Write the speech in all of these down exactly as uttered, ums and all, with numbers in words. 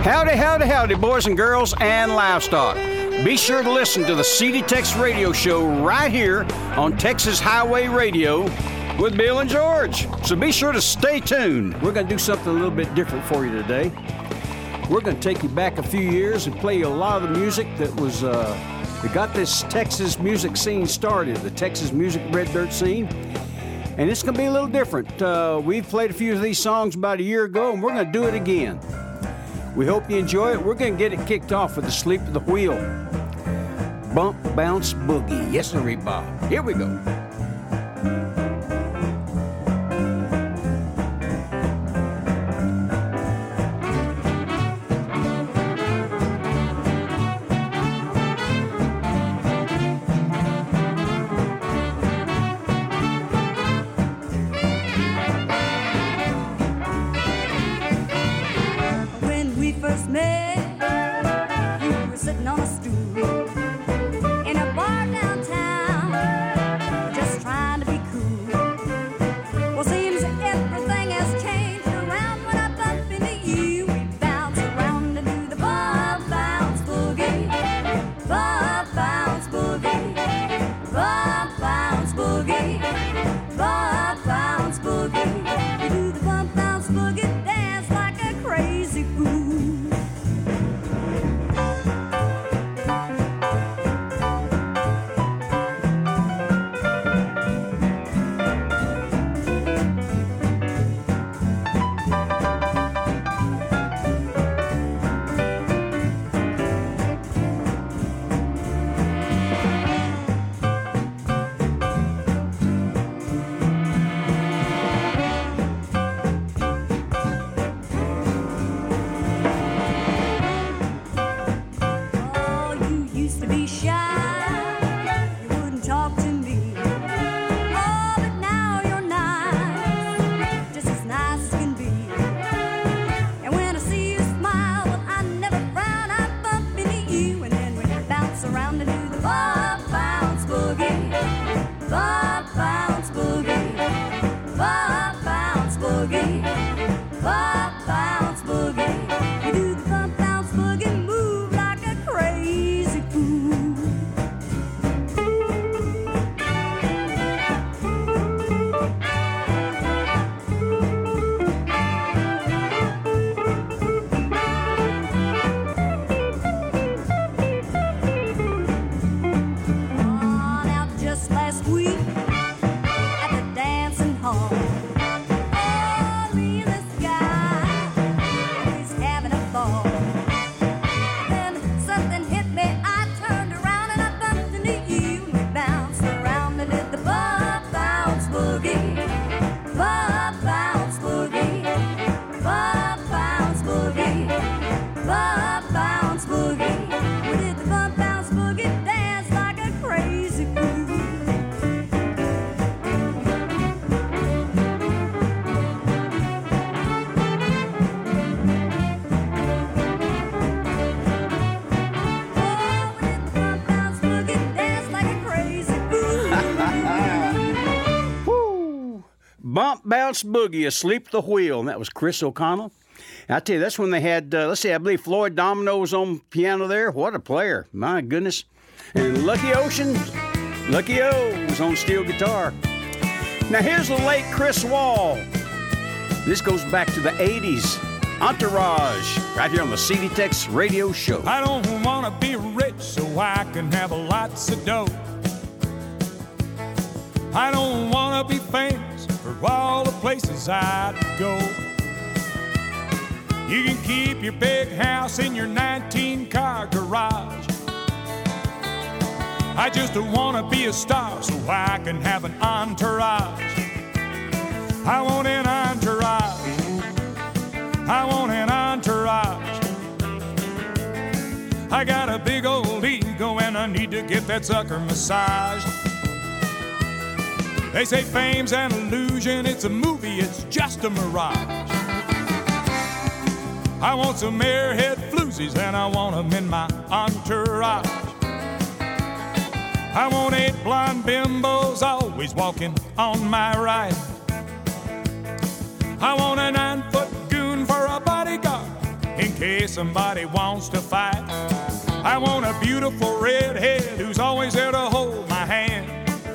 Howdy, howdy, howdy, boys and girls and livestock. Be sure to listen to the C D Tex Radio Show right here on Texas Highway Radio with Bill and George. So be sure to stay tuned. We're going to do something a little bit different for you today. We're going to take you back a few years and play you a lot of the music that was uh, that got this Texas music scene started, the Texas music red dirt scene. And it's going to be a little different. Uh, we've played a few of these songs about a year ago, and we're going to do it again. We hope you enjoy it. We're going to get it kicked off with the Sleep of the Wheel. Bump, bounce, boogie. Yes, sir, Bob. Here we go. Bump, Bounce, Boogie, Asleep at the Wheel, and that was Chris O'Connell. I tell you, that's when they had, uh, let's see, I believe Floyd Domino's on piano there. What a player, my goodness. And Lucky Ocean, Lucky O was on steel guitar. Now here's the late Chris Wall. This goes back to the eighties. Entourage, right here on the C D Tex Radio Show. I don't want to be rich so I can have lots of dough. I don't want to be famous for all the places I'd go. You can keep your big house in your nineteen-car garage. I just want to be a star so I can have an entourage. I want an entourage. I want an entourage. I got a big old ego and I need to get that sucker massaged. They say fame's an illusion, it's a movie, it's just a mirage. I want some airhead floozies and I want them in my entourage. I want eight blonde bimbos always walking on my right. I want a nine-foot goon for a bodyguard in case somebody wants to fight. I want a beautiful redhead who's always there to hold my hand.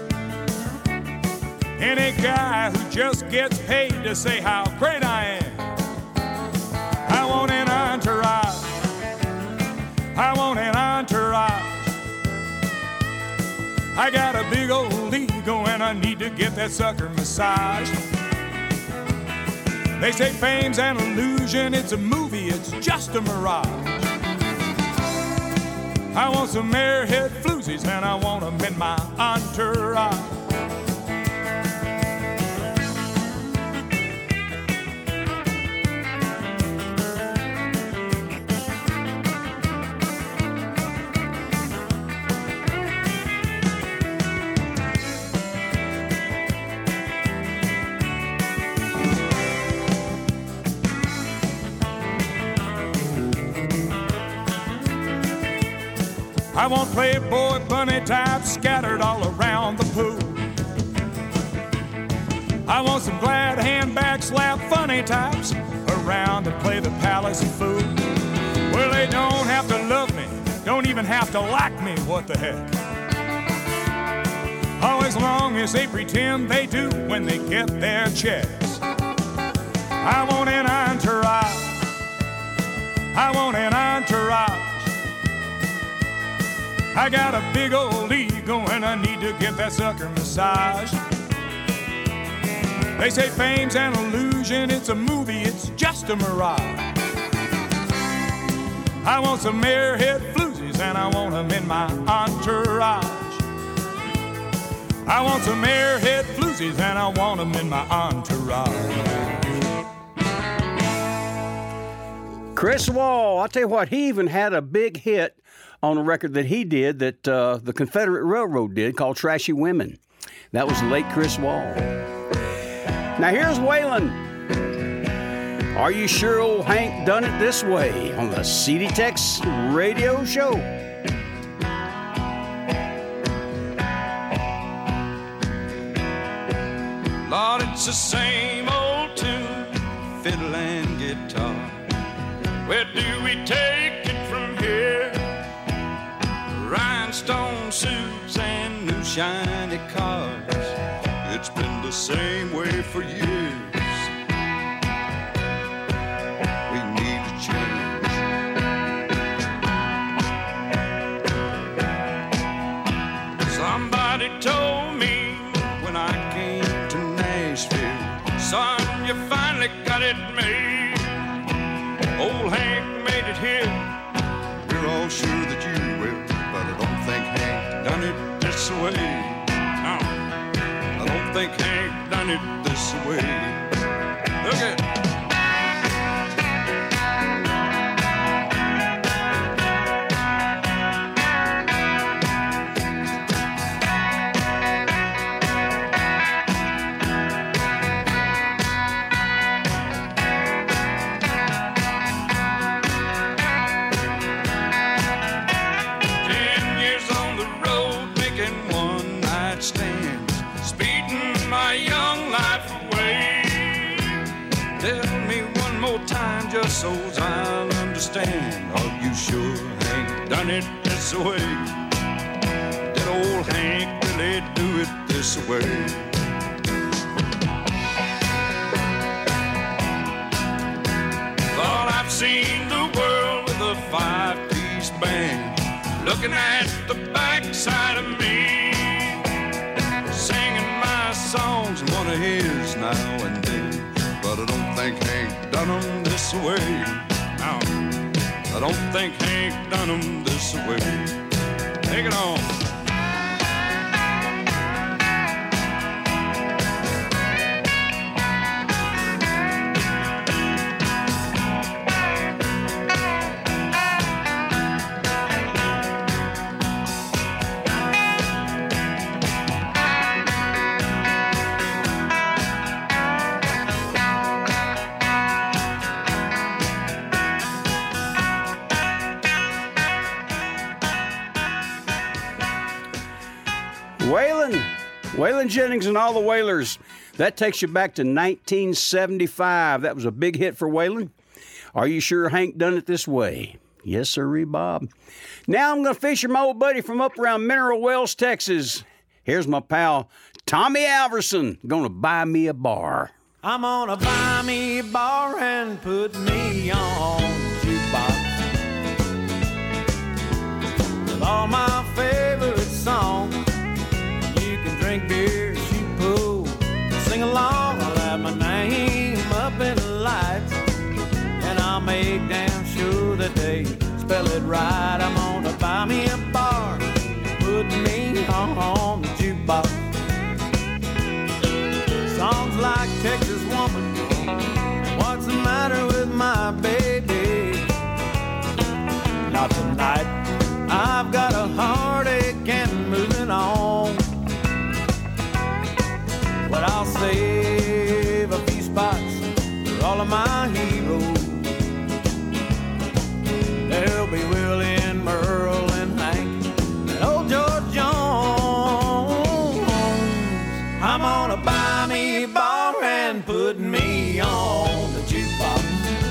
Any guy who just gets paid to say how great I am. I want an entourage. I want an entourage. I got a big old ego and I need to get that sucker massaged. They say fame's an illusion, it's a movie, it's just a mirage. I want some airhead floozies and I want them in my entourage. I want Playboy bunny types scattered all around the pool. I want some glad handbag slap funny types around to play the palace of fool. Well, they don't have to love me, don't even have to like me, what the heck. Oh, as long as they pretend they do when they get their checks. I want an entourage. I want an entourage. I got a big old ego and I need to get that sucker massaged. They say fame's an illusion, it's a movie, it's just a mirage. I want some airhead floozies and I want them in my entourage. I want some airhead floozies and I want them in my entourage. Chris Wall, I'll tell you what, he even had a big hit on a record that he did that uh, the Confederate Railroad did called Trashy Women. That was the late Chris Wall. Now here's Waylon. Are you sure old Hank done it this way on the C D Tex Radio Show? Lord, it's the same old tune, fiddle and guitar. Where do we take it from here? Rhinestone suits and new shiny cars. It's been the same way for years. We need to change. Somebody told me when I came to Nashville, son, you finally got it made. Old Hank made it here. We're all sure that you will, but I don't think Hank done it this way. No, I don't think Hank done it this way. Look at it. So I'll understand. Are you sure Hank done it this way? Did old Hank really do it this way? Thought I've seen the world with a five-piece band, looking at the backside of me, singing my songs and one of his now and then. But I don't think Hank done them this way. No, I don't think Hank done them this way. Take it on. Waylon, Waylon Jennings and all the Wailers. That takes you back to nineteen seventy-five. That was a big hit for Waylon. Are you sure Hank done it this way? Yes, sirree, Bob. Now I'm going to feature my old buddy from up around Mineral Wells, Texas. Here's my pal, Tommy Alverson, going to buy me a bar. I'm gonna buy me a bar and put me on the jukebox with all my favorite songs. You can drink beer, shoot pool, sing along. I'll have my name up in the lights, and I'll make damn sure that they spell it right. I'm gonna buy me a bar, put me on the jukebox. Songs like Texas Woman, what's the matter with my baby? Not tonight, I've got a heartache and moving on. But I'll save a few spots for all of my heroes. There'll be Willie and Merle and Hank and old George Jones. I'm gonna buy me a bar and put me on the jukebox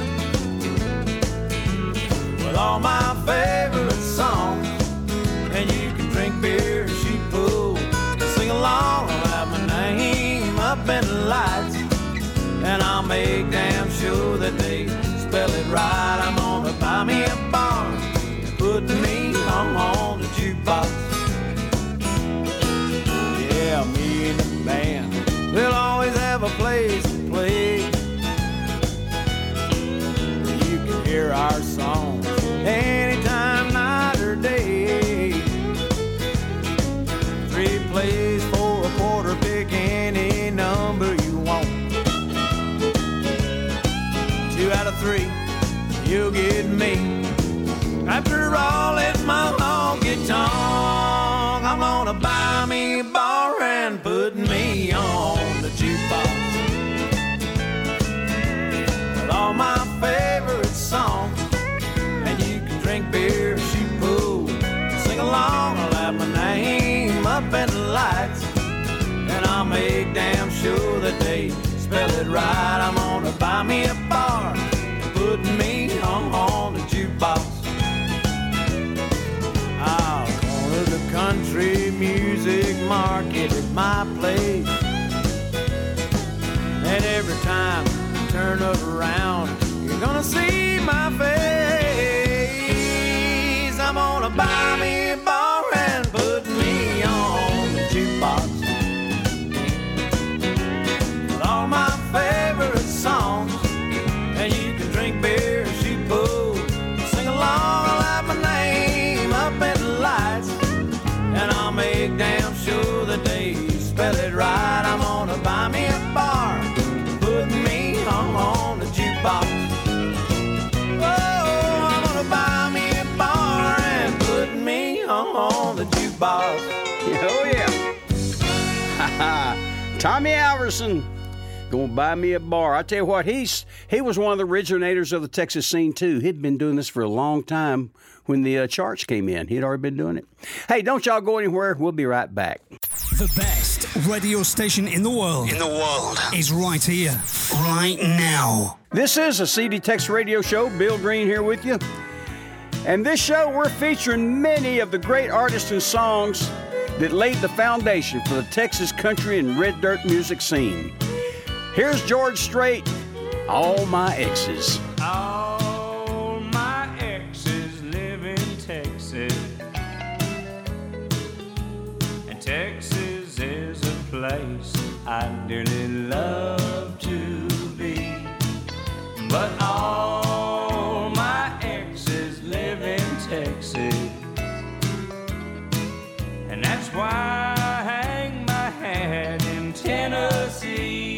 with all my favorite songs. And you can drink beer, shoot pool, sing along. I'll have my name up in the lights, and I'll make damn sure that they spell it right. I'm gonna buy me a bar, put me on the jukebox. Yeah, me and the band, we'll always have a place to play. You can hear our songs anytime, night or day. Three plays for a quarter, pick any number you want. Two out of three, you'll get me. After all, it's my honky tonk. I'm gonna buy me a bar and put me on the jukebox with all my favorite songs. And you can drink beer, shoot pool, sing along. I'll have my name up in the lights, and I'll make damn sure that they spell it right. I'm gonna buy me a bar, put me on the jukebox. I'll corner the country music market at my place, and every time you turn it around, you're gonna see my face. I'm gonna buy me a bar and put me on the jukebox with all my favorite songs. And you can drink beer, shoot pool, sing along. I'll have my name up in the lights, and I'll make damn sure that they spell it right. I'm gonna buy me a bar, put me on the jukebox. Oh, I'm gonna buy me a bar and put me on the jukebox. Oh, yeah. Tommy Alverson, gonna buy me a bar. I tell you what, he's he was one of the originators of the Texas scene, too. He'd been doing this for a long time when the uh, charts came in. He'd already been doing it. Hey, don't y'all go anywhere. We'll be right back. The best radio station in the world. In the world. Is right here, right now. This is a C D Tex Radio Show. Bill Green here with you. And this show, we're featuring many of the great artists and songs that laid the foundation for the Texas country and red dirt music scene. Here's George Strait, All My Exes. All my exes live in Texas, and Texas is a place I dearly love to be. But all my exes live in Texas, and that's why I hang my hat in Tennessee.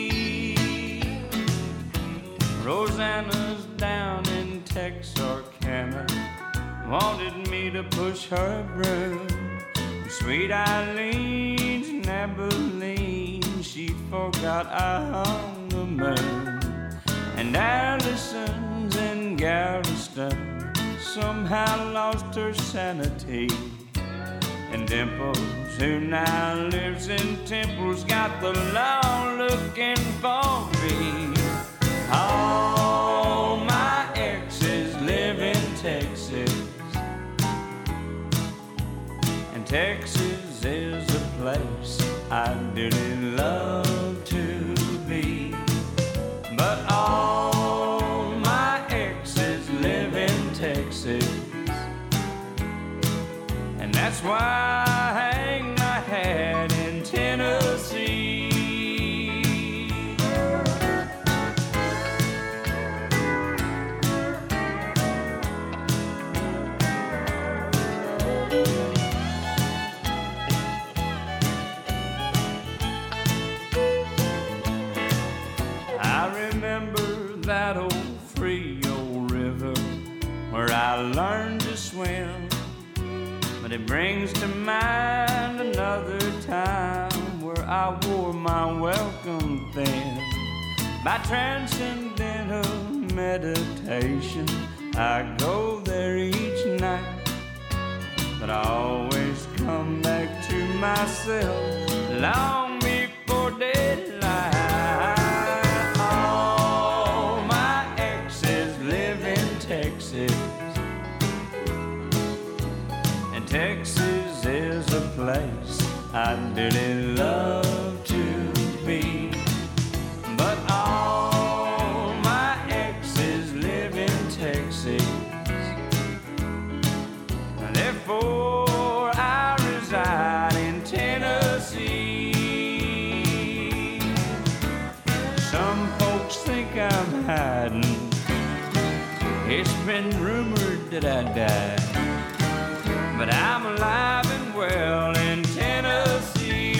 Rosanna's down in Texarkana, wanted me to push her broom. Sweet Eileen's in Abilene, she forgot I hung the moon. And Allison's in Galveston somehow lost her sanity. And Dimples, who now lives in Temple's got the law looking for me. All my Texas. And Texas is a place I dearly love to be. But all my exes live in Texas, and that's why I hang my hat in Tennessee. That old Frio River where I learned to swim, but it brings to mind another time where I wore my welcome thin. By transcendental meditation, I go there each night, but I always come back to myself long before daylight. And Texas is a place I dearly love to be. But all my exes live in Texas, therefore I reside in Tennessee. Some folks think I'm hiding. It's been rumored that I died, but I'm alive and well in Tennessee.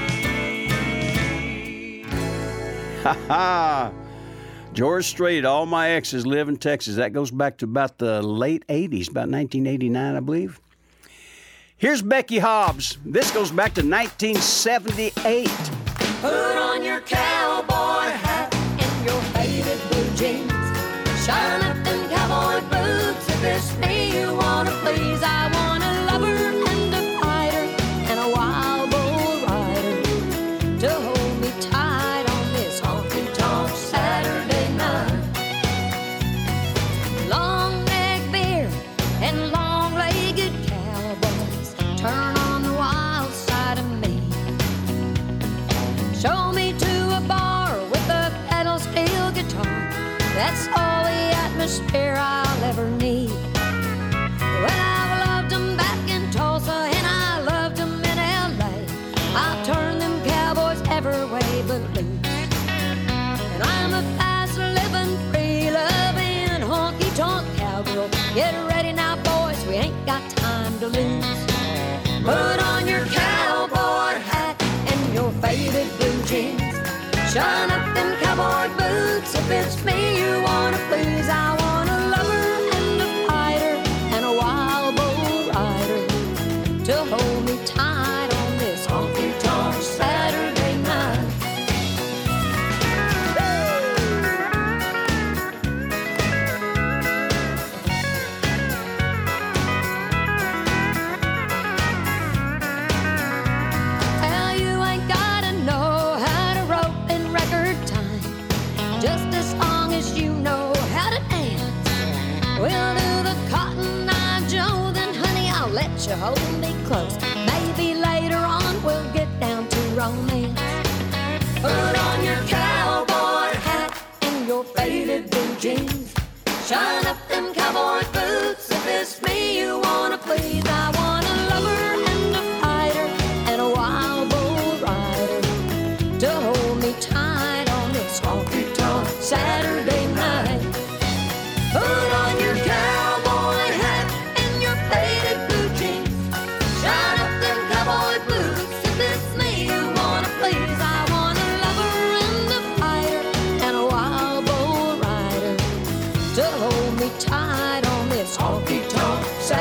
Ha ha! George Strait, all my exes live in Texas. That goes back to about the late eighties, about nineteen eighty-nine, I believe. Here's Becky Hobbs. This goes back to nineteen seventy-eight. Put on your cowboy hat and your faded blue jeans. Shine up them cowboy boots. If it's me you wanna please, I want a lover and a fighter and a wild bull rider to hold me tight on this honky-tonk Saturday night. Long-neck beard and long-legged cowboys turn on the wild side of me. Show me to a bar with a pedal steel guitar. That's all the atmosphere I'll ever need. Well, I've loved them back in Tulsa and I loved them in L A. I'll turn them cowboys every way but loose. And I'm a fast-living, free-loving, honky-tonk cowgirl. Get ready now, boys, we ain't got time to lose. Put on your cowboy hat and your faded blue jeans. Shine up them cowboy boots. If it's me you wanna please, I want a lover and a fighter and a wild bull rider to hold me tight on this honky-tonk Saturday night. Well, you ain't gotta know how to rope in record time, just as long as you know how to dance. We'll do the Cotton Eye Joe, then honey, I'll let you hold me close. Maybe later on we'll get down to romance. Put on your cowboy hat and your faded blue jeans. Shine up them cowboy boots. If it's me you wanna please, I want a lover and a fighter and a wild bull rider to hold me tight on this honky-tonk Saturday night. Put on your cowboy hat and your faded blue jeans. Shine up them cowboy boots. If it's me you wanna please, I want a lover and a fighter and a wild bull rider to hold me tight on this honky-tonk Saturday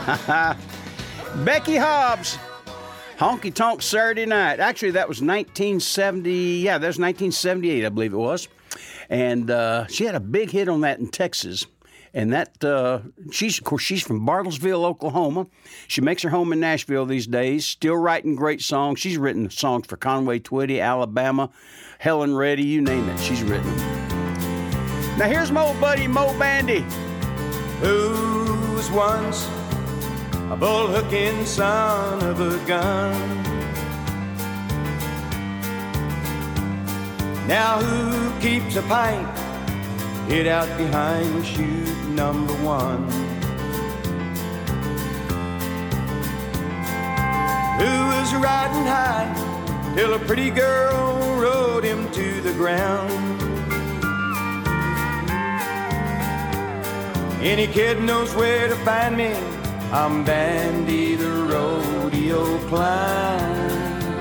Becky Hobbs, Honky Tonk Saturday Night. Actually, that was nineteen seventy. Yeah, that was nineteen seventy-eight, I believe it was. And uh, she had a big hit on that in Texas. And that, uh, she's, of course, she's from Bartlesville, Oklahoma. She makes her home in Nashville these days, still writing great songs. She's written songs for Conway Twitty, Alabama, Helen Reddy, you name it, she's written them. Now here's my old buddy, Mo Bandy. Who was once a bull-hooking son of a gun. Now who keeps a pint hid out behind chute number one? Who was riding high till a pretty girl rode him to the ground? Any kid knows where to find me. I'm Bandy the rodeo clown.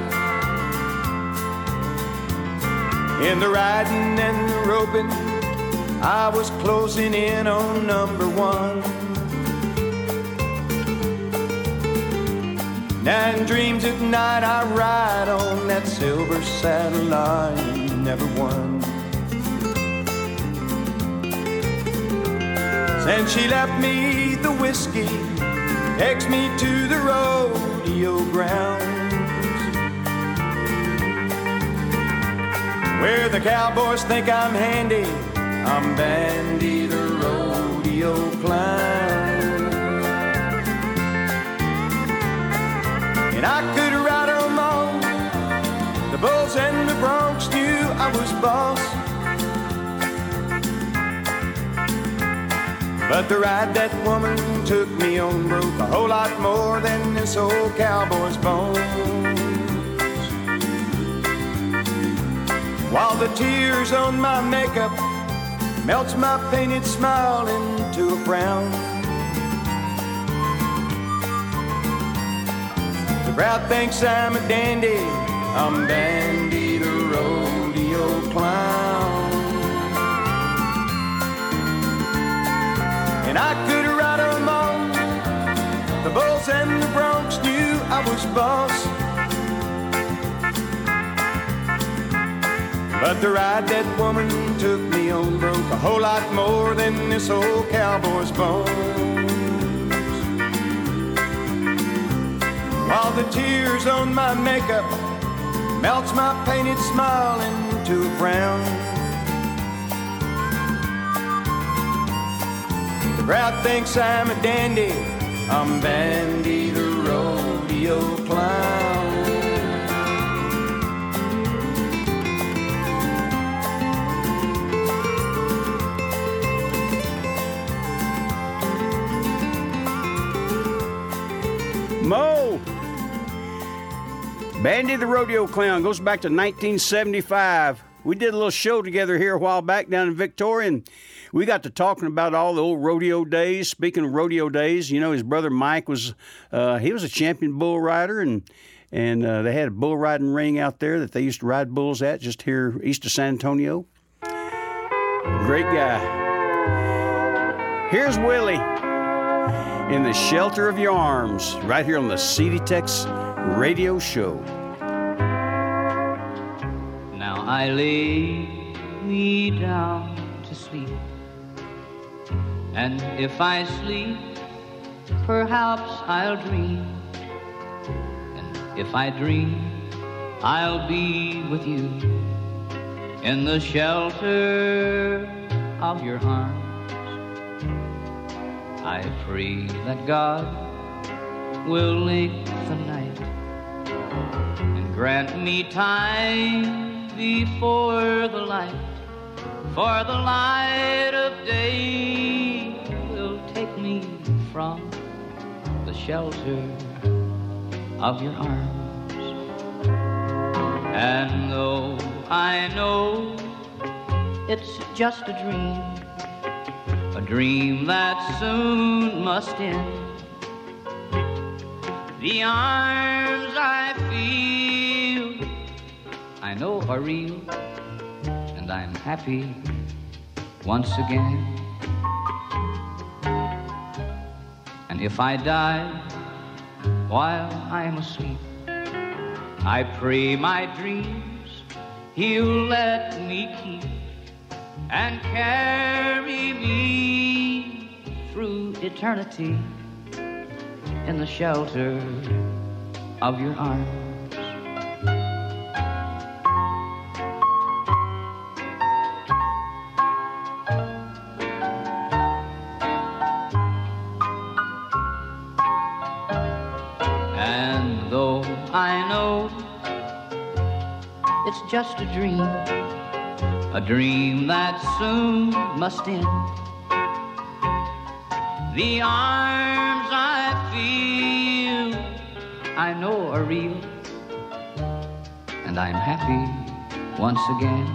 In the riding and the roping, I was closing in on number one. Now in dreams at night I ride on that silver saddle I never won. Since she left me the whiskey, takes me to the rodeo grounds, where the cowboys think I'm handy. I'm Bandy the rodeo clown. And I could ride them all. The bulls and the broncs knew I was boss. But the ride that woman took me on broke a whole lot more than this old cowboy's bones. While the tears on my makeup melts my painted smile into a frown. The crowd thinks I'm a dandy. I'm Bandy the rodeo clown. And I could ride them all. The bulls and the broncs knew I was boss. But the ride that woman took me on broke a whole lot more than this old cowboy's bones. While the tears on my makeup melts my painted smile into a frown. The crowd thinks I'm a dandy. I'm Bandy the rodeo clown. Mo! Bandy the Rodeo Clown goes back to nineteen seventy-five. We did a little show together here a while back down in Victoria, and we got to talking about all the old rodeo days. Speaking of rodeo days, you know, his brother Mike was, uh, he was a champion bull rider, and and uh, they had a bull riding ring out there that they used to ride bulls at just here east of San Antonio. Great guy. Here's Willie. In the shelter of your arms, right here on the C D Tex Radio Show. Now I lay me down to sleep, and if I sleep, perhaps I'll dream, and if I dream, I'll be with you in the shelter of your arms. I pray that God will lengthen the night and grant me time before the light, for the light of day will take me from the shelter of your arms. And though I know it's just a dream, a dream that soon must end, the arms I feel, I know are real, and I'm happy once again. And if I die while I'm asleep, I pray my dreams He'll let me keep and carry me through eternity in the shelter of your arms. And though I know it's just a dream, a dream that soon must end, the arms I feel I know are real, and I'm happy once again.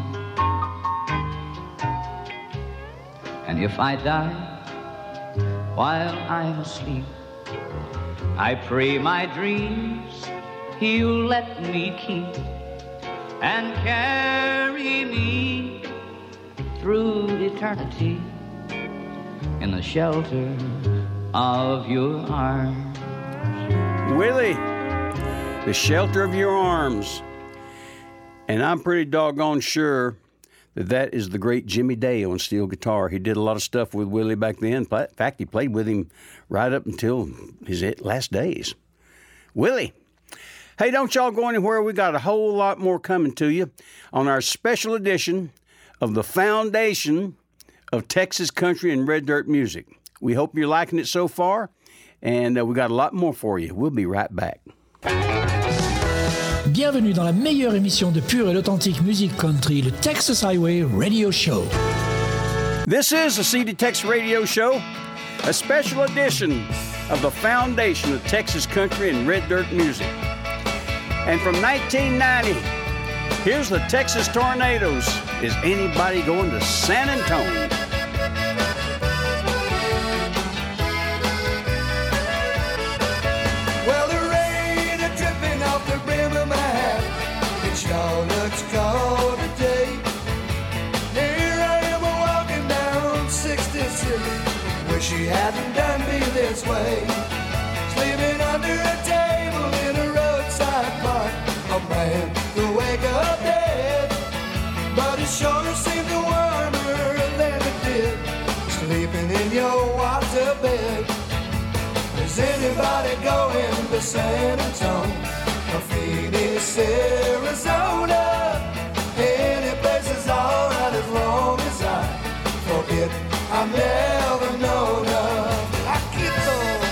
And if I die while I'm asleep, I pray my dreams He'll let me keep and carry me through eternity in the shelter of your arms. Willie, the shelter of your arms. And I'm pretty doggone sure that that is the great Jimmy Day on steel guitar. He did a lot of stuff with Willie back then. In fact, he played with him right up until his last days. Willie. Hey, don't y'all go anywhere. We got a whole lot more coming to you on our special edition of the Foundation of Texas Country and Red Dirt Music. We hope you're liking it so far, and uh, we got a lot more for you. We'll be right back. Bienvenue dans la meilleure émission de pure et authentique musique country, le Texas Highway Radio Show. This is the C D Tex Radio Show, a special edition of the Foundation of Texas Country and Red Dirt Music. And from nineteen ninety, here's the Texas Tornadoes. Is anybody going to San Antonio? Well, the rain is dripping off the brim of my hat. It sure looks cold today. Here I am walking down sixty-six. Wish he hadn't done me this way. Sleeping under a table in a roadside park. A man could wake up dead, but it sure seemed warmer than it did sleeping in your water bed. Is anybody going to San Antonio or Phoenix, Arizona? Any place is alright as long as I forget I've never known of. I keep on.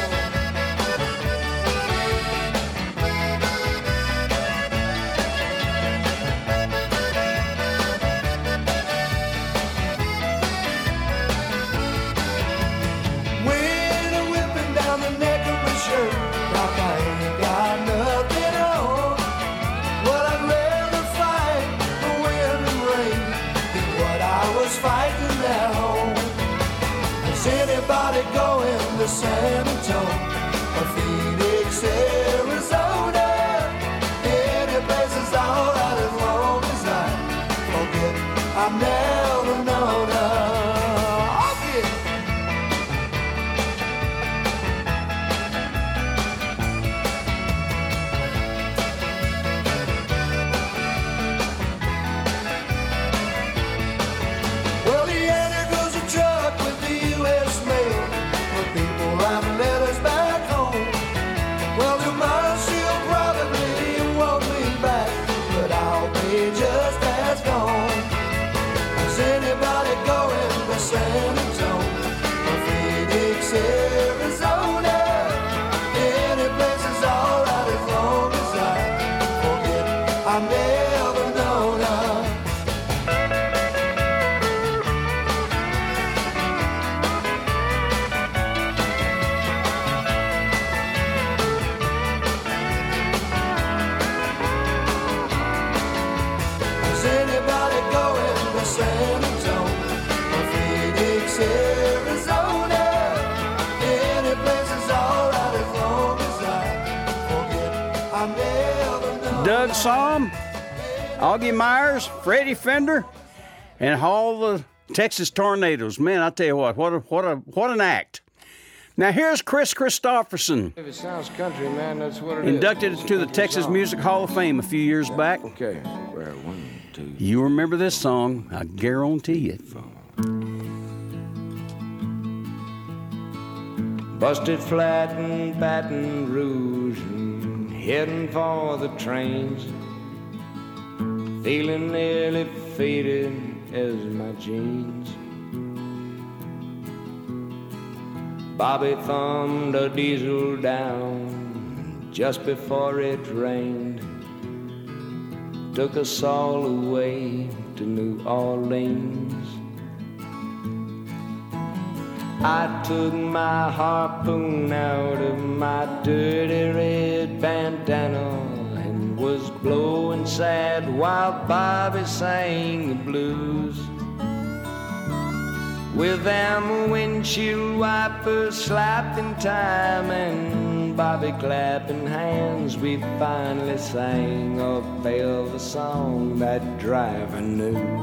Anybody going to San Antonio or Phoenix, Arizona? Any place is alright as long as I forget I've never known her. Okay. Well, the Anna goes a truck with the U S mail. People write letters back home. Well, tomorrow she'll probably want me back, but I'll be just as gone. Is anybody going to San Antonio or Phoenix, Arizona? Any place is alright as long as I forget I've never known her. San Antonio or Phoenix, Arizona. Any place is alright as long as I forget I've never known. Doug Somm, Augie Myers, Freddie Fender, and all the Texas Tornadoes. Man, I tell you what, what a, what a what an act. Now here's Chris Christopherson, If it sounds country, man, that's what it is. inducted It's a into the country Texas song. Music Hall of Fame a few years back. Okay, well, one, two. You remember this song, I guarantee it. Busted flat in Baton Rouge and heading for the trains. Feeling nearly faded as my jeans. Bobby thumbed a diesel down just before it rained. Took us all away to New Orleans. I took my harpoon out of my dirty red bandana and was blowing sad while Bobby sang the blues. With them windshield wipers slapping time and Bobby clapping hands, we finally sang a velvet song that driver knew.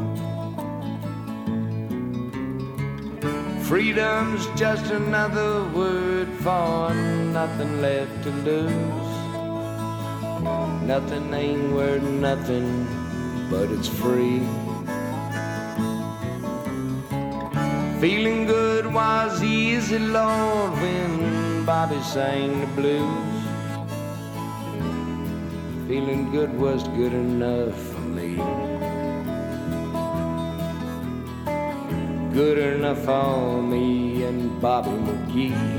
Freedom's just another word for nothing left to lose. Nothing ain't worth nothing, but it's free. Feeling good was easy, Lord, when Bobby sang the blues. Feeling good was good enough for me. Good enough for me and Bobby McGee.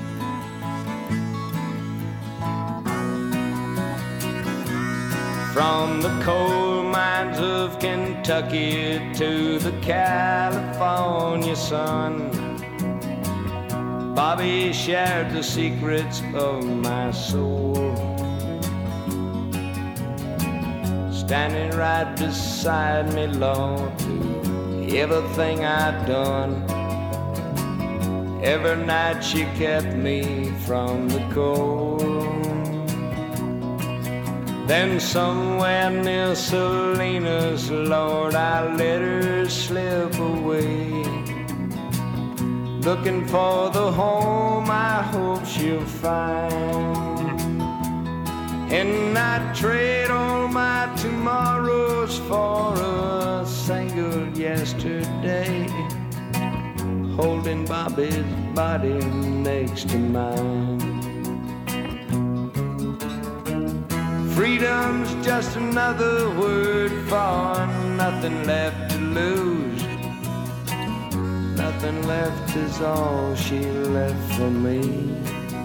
From the coal mines of Kentucky to the California sun, Bobby shared the secrets of my soul. Standing right beside me, Lord, to everything I'd done. Every night she kept me from the cold. Then somewhere near Salinas, Lord, I let her slip away, looking for the home I hope she'll find. And I'd trade all my tomorrows for a single yesterday, holding Bobby's body next to mine. Freedom's just another word for nothing left to lose. Nothing left is all she left for me.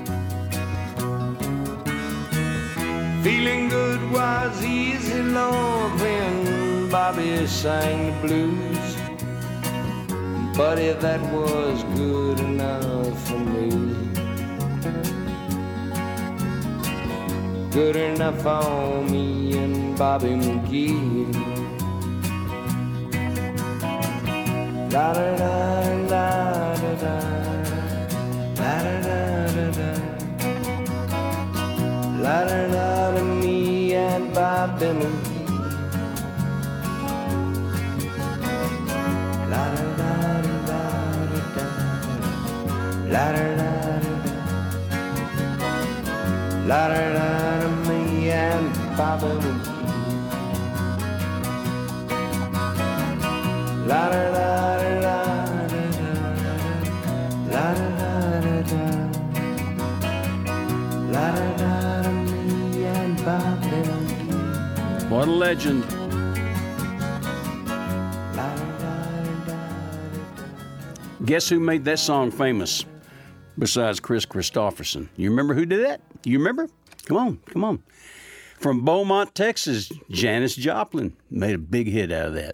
Feeling good was easy, Lord, when Bobby sang the blues. Buddy, that was good enough for me. Good enough for me and Bobby McGee. La da da da da da, la da da da da, la da da da, me and Bobby McGee. La da da da da da, la da da da da, la da da da, me and Bobby McGee. La da da da da da, la da da da da, la da da da, me and Bobby McGee. What a legend. Guess who made that song famous besides Chris Christopherson? You remember who did that? You remember? Come on, come on. From Beaumont, Texas, Janis Joplin made a big hit out of that.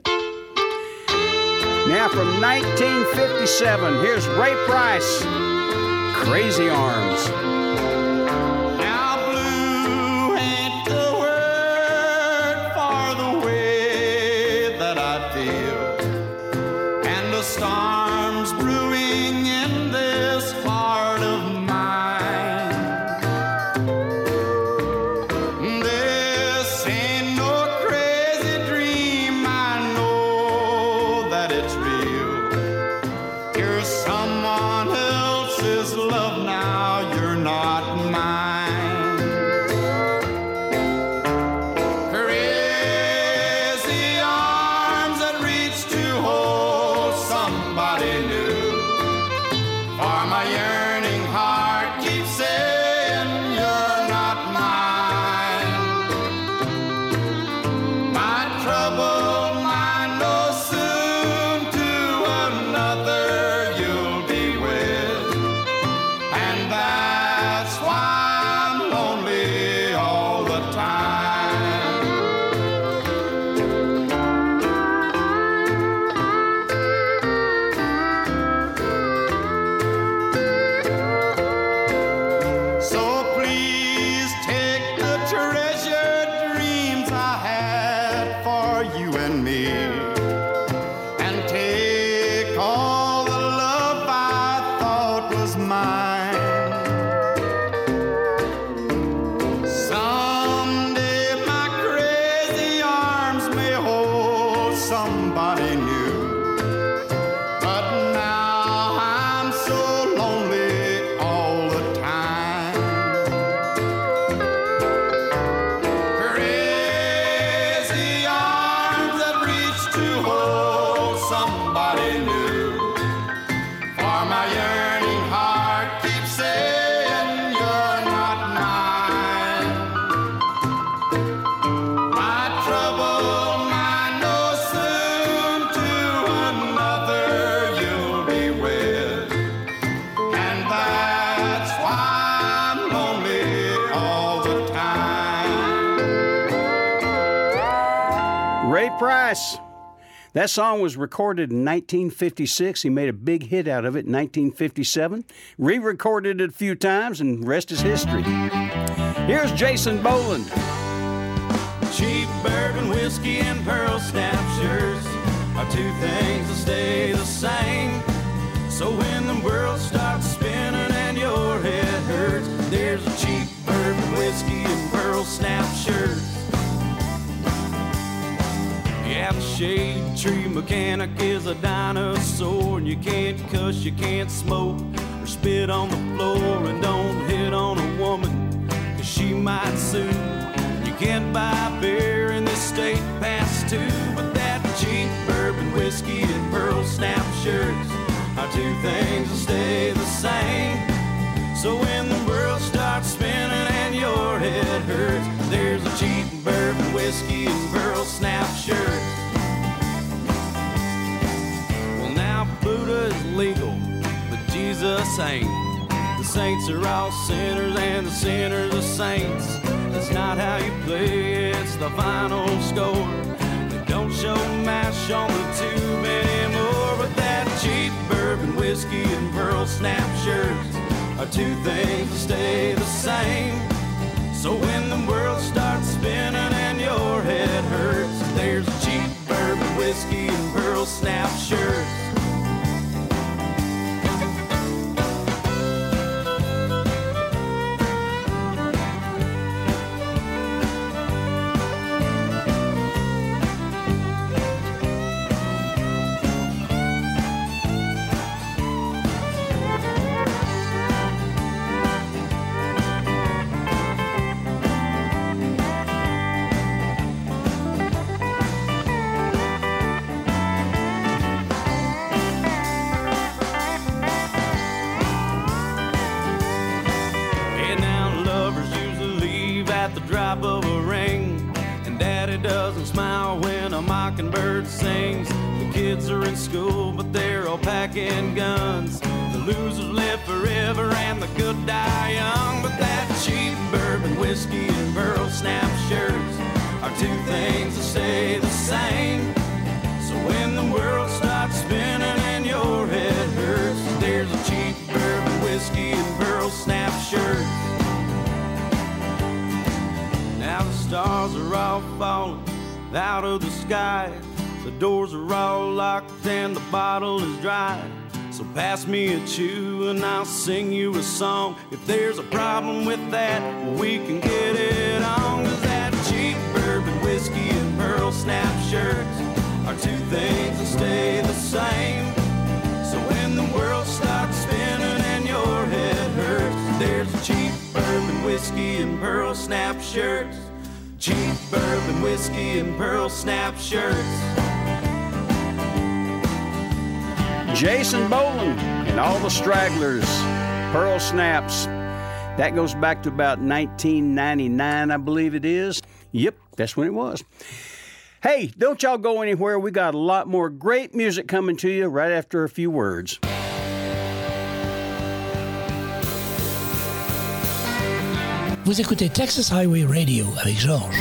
Now from nineteen fifty-seven, here's Ray Price, Crazy Arms. Now blue ain't the word for the way that I feel, and the storm's brewing in this heart of mine. This ain't no crazy dream, I know that it's real. You're someone else's love now. and me and take all the love I thought was mine. Someday my crazy arms may hold somebody new, but now I'm so lonely all the time. Crazy arms that reach to hold somebody new, for my yearning heart keeps saying you're not mine. My trouble might know soon to another you'll be with, and that's why I'm lonely all the time. Ray Price. That song was recorded in nineteen fifty-six. He made a big hit out of it in nineteen fifty-seven. Re-recorded it a few times, and rest is history. Here's Jason Boland. Cheap bourbon whiskey and pearl snap shirts are two things that stay the same. So when the world starts spinning and your head hurts, there's a cheap bourbon whiskey and pearl snap shirt. Yeah, the shade tree mechanic is a dinosaur, and you can't cuss, you can't smoke, or spit on the floor, and don't hit on a woman, cause she might sue. You can't buy beer in this state past two, but that cheap bourbon whiskey and pearl snap shirts are two things that stay the same. So when the world starts spinning and your head hurts, there's a cheap bourbon whiskey and pearl snap shirt. Well, now Buddha is legal, but Jesus ain't. The saints are all sinners and the sinners are saints. That's not how you play, it's the final score. They don't show MASH on the tube anymore, but that cheap bourbon whiskey and pearl snap shirts are two things that stay the same. So when the world starts spinning and your head hurts, there's a cheap bourbon whiskey and pearl snap shirt. Of a ring, and daddy doesn't smile when a mockingbird sings. The kids are in school, but they're all packing guns. The losers live forever and the good die young. But that cheap bourbon whiskey and pearl snap shirts are two things that stay the same. So when the world starts spinning and your head hurts, there's a cheap bourbon whiskey and pearl snap shirt. Now the stars are all falling out of the sky. The doors are all locked and the bottle is dry. So pass me a chew and I'll sing you a song. If there's a problem with that, we can get it on. Cause that cheap bourbon whiskey and pearl snap shirts are two things that stay the same. So when the world starts spinning and your head hurts, there's a cheap bourbon whiskey and pearl snap shirts. Cheap bourbon whiskey and pearl snap shirts. Jason Boland and all the stragglers, pearl snaps. That goes back to about nineteen ninety-nine, I believe it is. Yep, that's when it was. Hey, don't y'all go anywhere. We got a lot more great music coming to you right after a few words. Vous écoutez Texas Highway Radio avec Georges.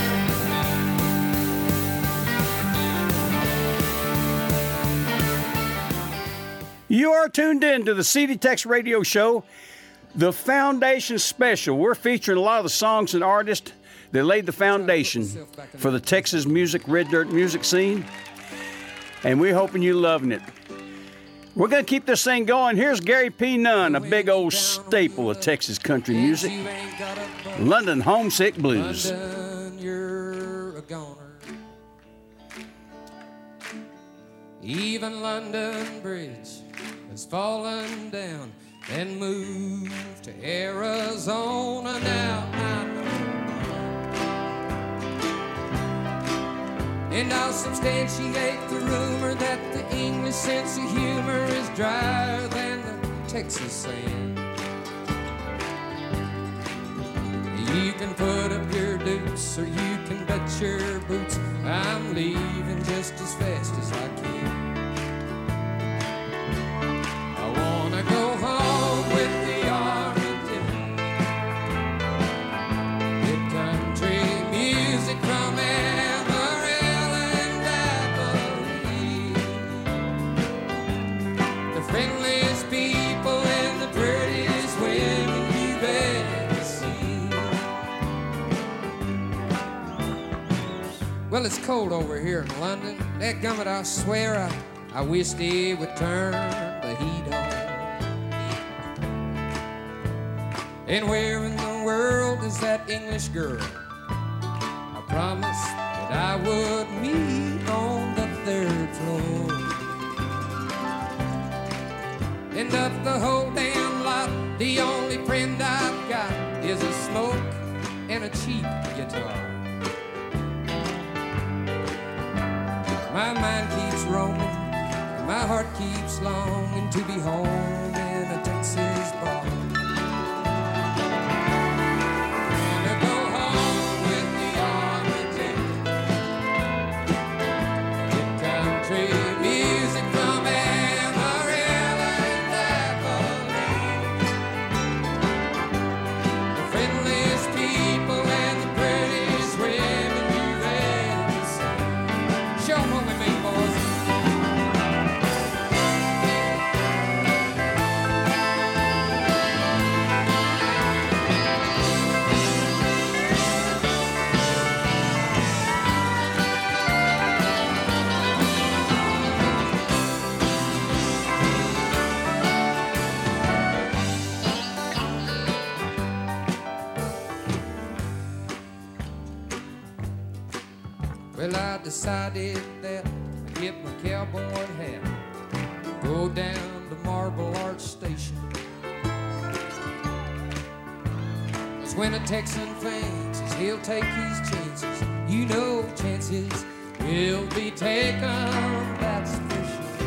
You are tuned in to the C D Tex Radio Show, the Foundation Special. We're featuring a lot of the songs and artists They laid the foundation for the Texas music, red dirt music scene, and we're hoping you're loving it. We're going to keep this thing going. Here's Gary P. Nunn, a big old staple of Texas country music, London Homesick Blues. London, you're a goner. Even London Bridge has fallen down and moved to Arizona now. I know. And I'll substantiate the rumor that the English sense of humor is drier than the Texas sand. You can put up your dukes or you can bet your boots. I'm leaving just as fast as I can. I wanna go home with the Armageddon. Get country music from Amarillo and Abilene. The friendliest people and the prettiest women you've ever seen. Well, it's cold over here in London. Dadgummit, I swear I, I wish they would turn the heat on. And where in the world is that English girl I promised that I would meet on the third floor? And of the whole damn lot, the only friend I've got is a smoke and a cheap guitar. My mind keeps roaming, and my heart keeps longing to be home in a Texas bar. Wanna go home with the Armageddon. Get country music from Amarillo and Abilene. The friendliest people and the prettiest women you've ever seen. Show 'em what we mean, boys. Well, I decided that I'd get my cowboy hat, go down to Marble Arch Station. 'Cause when a Texan fancies he'll take his chances, you know chances will be taken, that's for sure.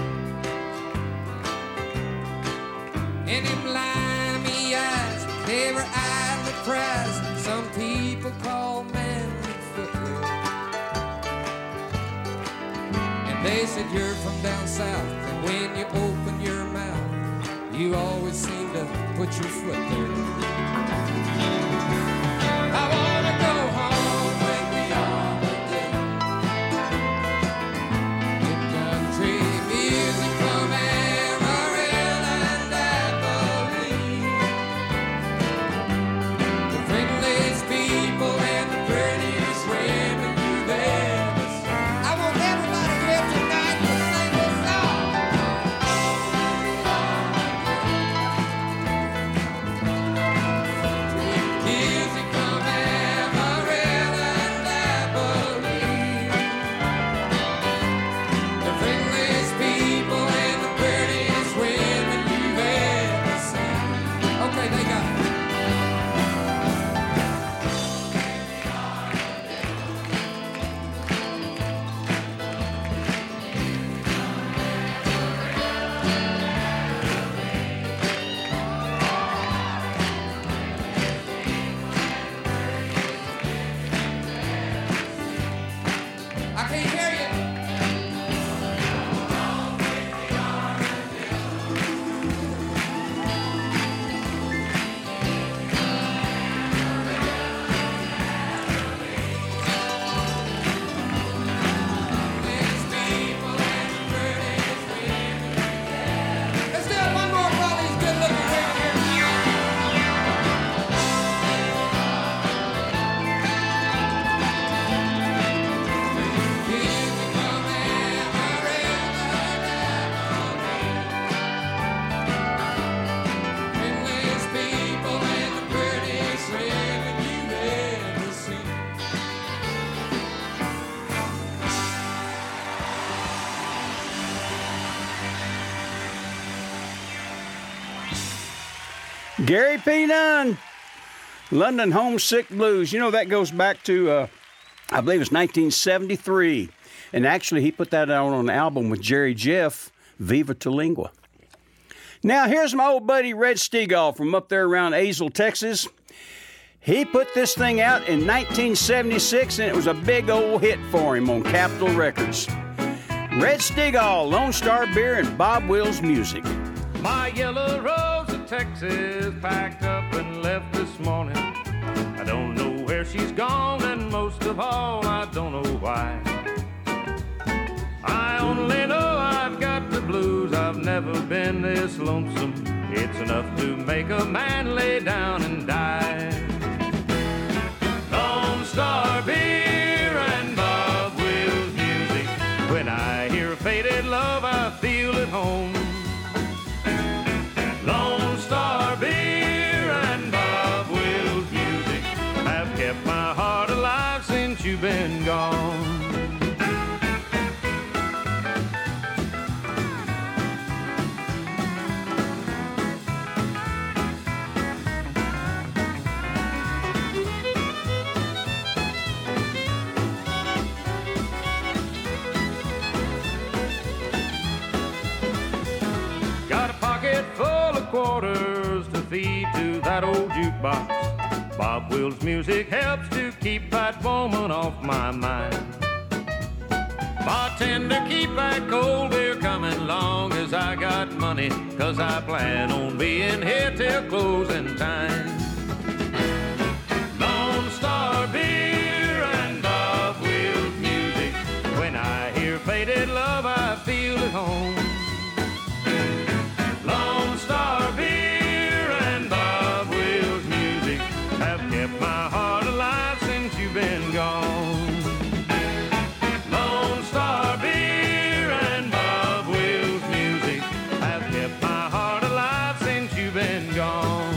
And them limey eyes, they were idly prized, some people call manly footwear. They said you're from down south, and when you open your mouth, you always seem to put your foot there. I wanna go home with the Armageddon. Get country music from Amarillo and Abilene. The friendliest people and the prettiest women you've ever seen. I want everybody here tonight to sing this song. Gary P. Dunn, London Homesick Blues. You know, that goes back to, uh, I believe it's nineteen seventy-three. And actually, he put that out on an album with Jerry Jeff, Viva Tulingua. Now, here's my old buddy Red Stegall from up there around Azle, Texas. He put this thing out in nineteen seventy-six, and it was a big old hit for him on Capitol Records. Red Stegall, Lone Star Beer, and Bob Wills Music. My yellow rose of Texas packed up and left this morning. I don't know where she's gone, and most of all, I don't know why. I only know I've got the blues. I've never been this lonesome. It's enough to make a man lay down and die. Lone Star Beer and Bob Wills Music. When I hear faded love, I feel at home. Lone Star Beer and Bob Wills Music have kept my heart alive since you've been gone. Quarters to feed to that old jukebox. Bob Wills Music helps to keep that woman off my mind. Bartender, keep that cold beer coming long as I got money, 'cause I plan on being here till closing time. Lone Star Beer and Bob Wills Music. When I hear faded love, I feel at home. Lone Star Beer and Bob Wills Music have kept my heart alive since you've been gone. Lone Star Beer and Bob Wills Music have kept my heart alive since you've been gone.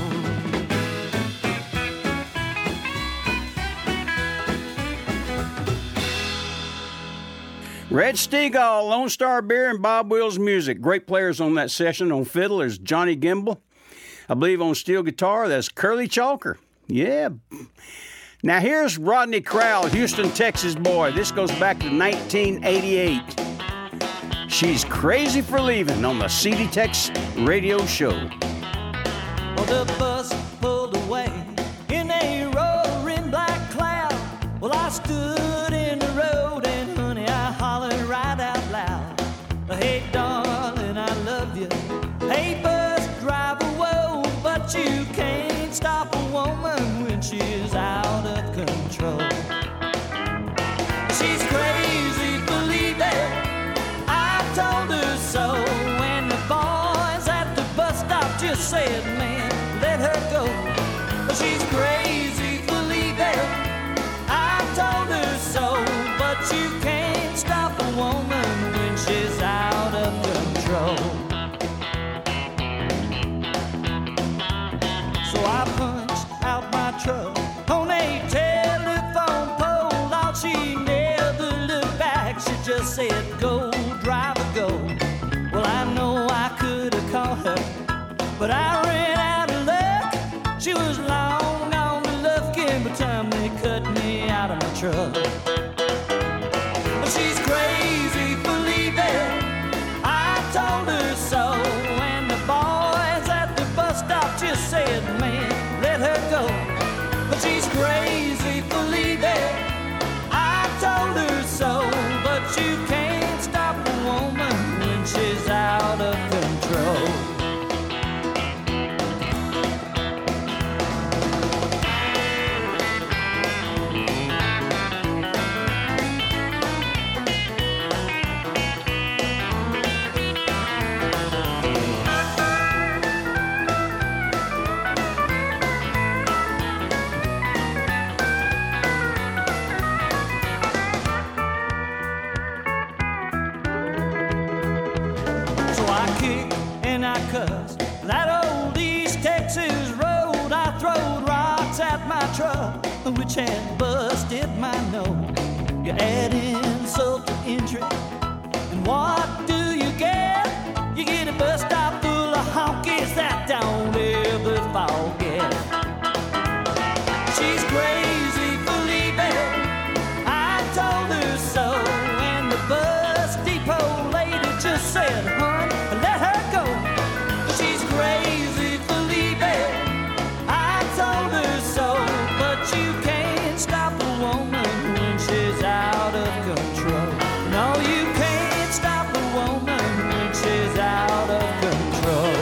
Red Stegall, Lone Star Beer, and Bob Wills Music. Great players on that session. On fiddle, there's Johnny Gimble. I believe on steel guitar, that's Curly Chalker. Yeah. Now here's Rodney Crowell, Houston, Texas boy. This goes back to nineteen eighty-eight. She's Crazy for Leaving on the C D Tex radio show. Well, the bus pulled away in a roaring black cloud. Well, I stood in the road and honey, I hollered right out loud. Hey, darling, I love you. Hey, bus driver, whoa, but you can't stop a woman when she's out of control. She's crazy, believe it. I told her so. When the boys at the bus stop just said, man, let her go. She's crazy, believe it. I told her so, but you can't stop a woman when she's out of control. So I punched out my truck on a telephone pole. All she never looked back, she just said, go, driver, go. Well, I know I could have called her, but I ran out of luck. She was long on the Lufkin by the time they cut me out of my truck. She's crazy, believe it. I told her so. When the boys at the bus stop just said, man, let her go. But she's crazy, believe it. I told her so. But you can't stop a woman when she's out of control. That old East Texas road, I throwed rocks at my truck, which had busted my nose. You add insult to injury, and what do you get? You get a bus stop full of honkies that don't ever fall said, "Hun, let her go. She's crazy for leaving." I told her so, but you can't stop a woman when she's out of control. No, you can't stop a woman when she's out of control.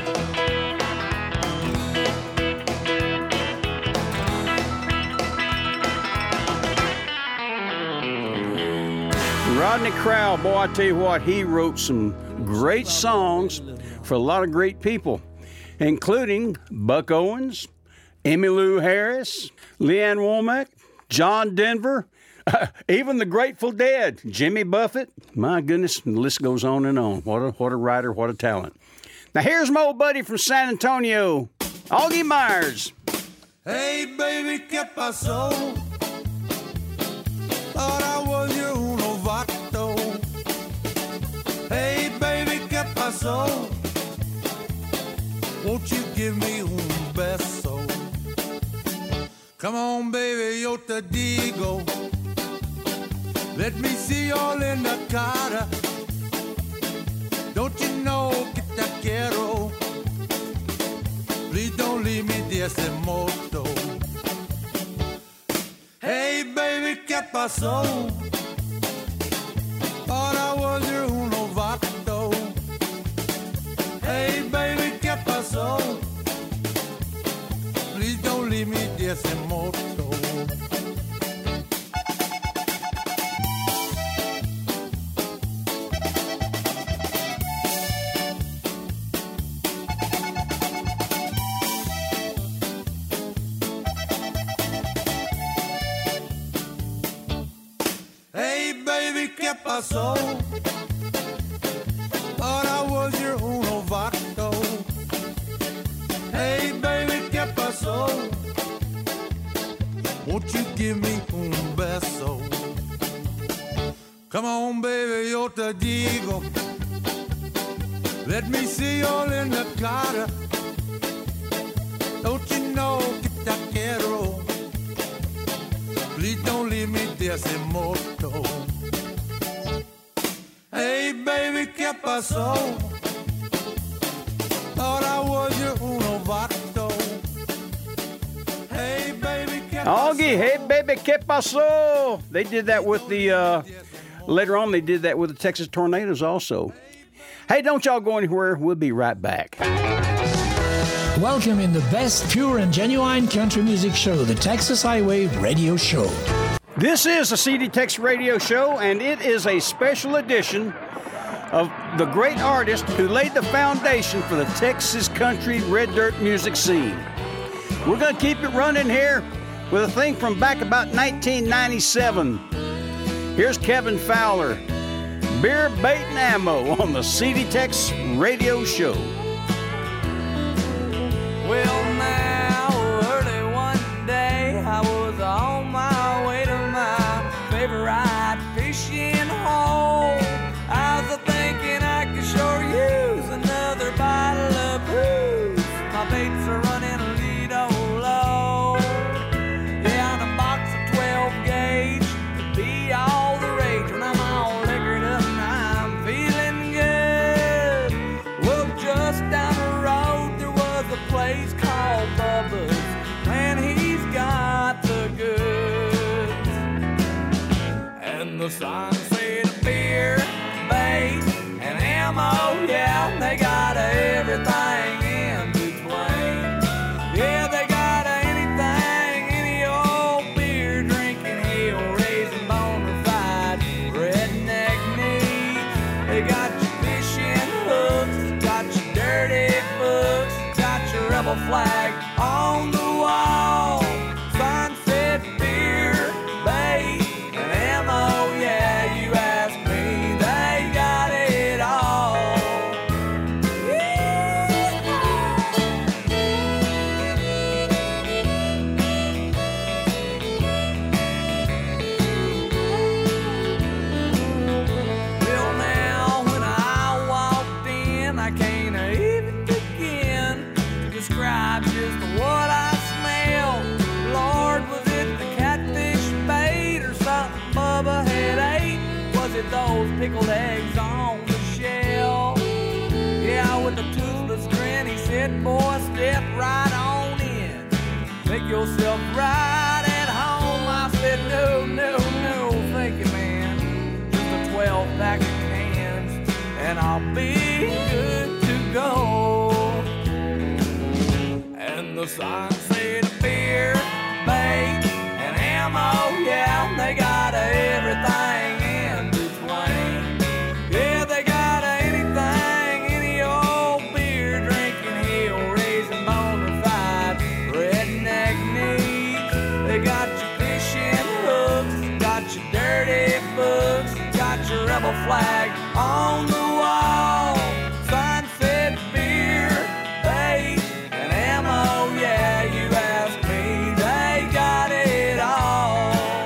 Rodney Crowell, boy, I tell you what, he wrote some great songs for a lot of great people, including Buck Owens, Emmylou Harris, Leanne Womack, John Denver, even the Grateful Dead, Jimmy Buffett. My goodness, the list goes on and on. What a, what a writer, what a talent. Now here's my old buddy from San Antonio, Augie Myers. Hey, baby, ¿qué pasó? Thought I was your uno vato. Hey, baby, ¿qué pasó? Won't you give me un beso? Come on, baby, yo te digo. Let me see all in the cara. Don't you know que te quiero? Please don't leave me de ese moto. Hey, baby, ¿qué pasó? Thought I was your uno vato. Hey, baby, ¿qué pasó? Please don't leave me de ese moto. ¿Qué pasó? Thought I was your uno vato. Hey, baby, ¿qué pasó? Won't you give me un beso? Come on, baby, yo te digo. Let me see all in the cara. Don't you know que te quiero? Please don't leave me de ese moto. Hey, baby, ¿qué pasó? Thought I was your uno vato. Hey, baby, ¿qué pasó? Augie, hey, baby, ¿qué pasó? They did that with the, uh, later on, they did that with the Texas Tornadoes also. Hey, don't y'all go anywhere. We'll be right back. Welcome in the best pure and genuine country music show, the Texas Highway Radio Show. This is the C D Tex Radio Show, and it is a special edition of the great artist who laid the foundation for the Texas country red dirt music scene. We're going to keep it running here with a thing from back about nineteen ninety-seven. Here's Kevin Fowler, Beer, Bait, and Ammo on the C D Tex Radio Show. Well, now, early one day, I was on my way to my favorite fishing hole. I was thinking I could sure use another bottle of booze. My baits are running a little low. Yeah, and a box of twelve gauge would be all the rage when I'm all liquored up and I'm feeling good. Well, just down the road there was a place called Bubba's, and he's got the goods. And the sign said beer, bait, and ammo, yeah, they got everything in between. Yeah, they got anything, any old beer drinking, hell-raising, bona-fide redneck needs. They got your fishing hooks, got your dirty books, got your rebel flag on the wall. Sign said beer, bait, and ammo, yeah, you ask me, they got it all. Well, now, when I walked in, I can't even begin to describe just and I'll be good to go. And the sign said beer, bait, and ammo, yeah, they got everything in between. Yeah, they got anything, any old beer drinking, hill raising, bona fide redneck needs. They got your fishing hooks, got your dirty books, got your rebel flag on the wall. Sign said beer, bait, and ammo, yeah, you ask me, they got it all.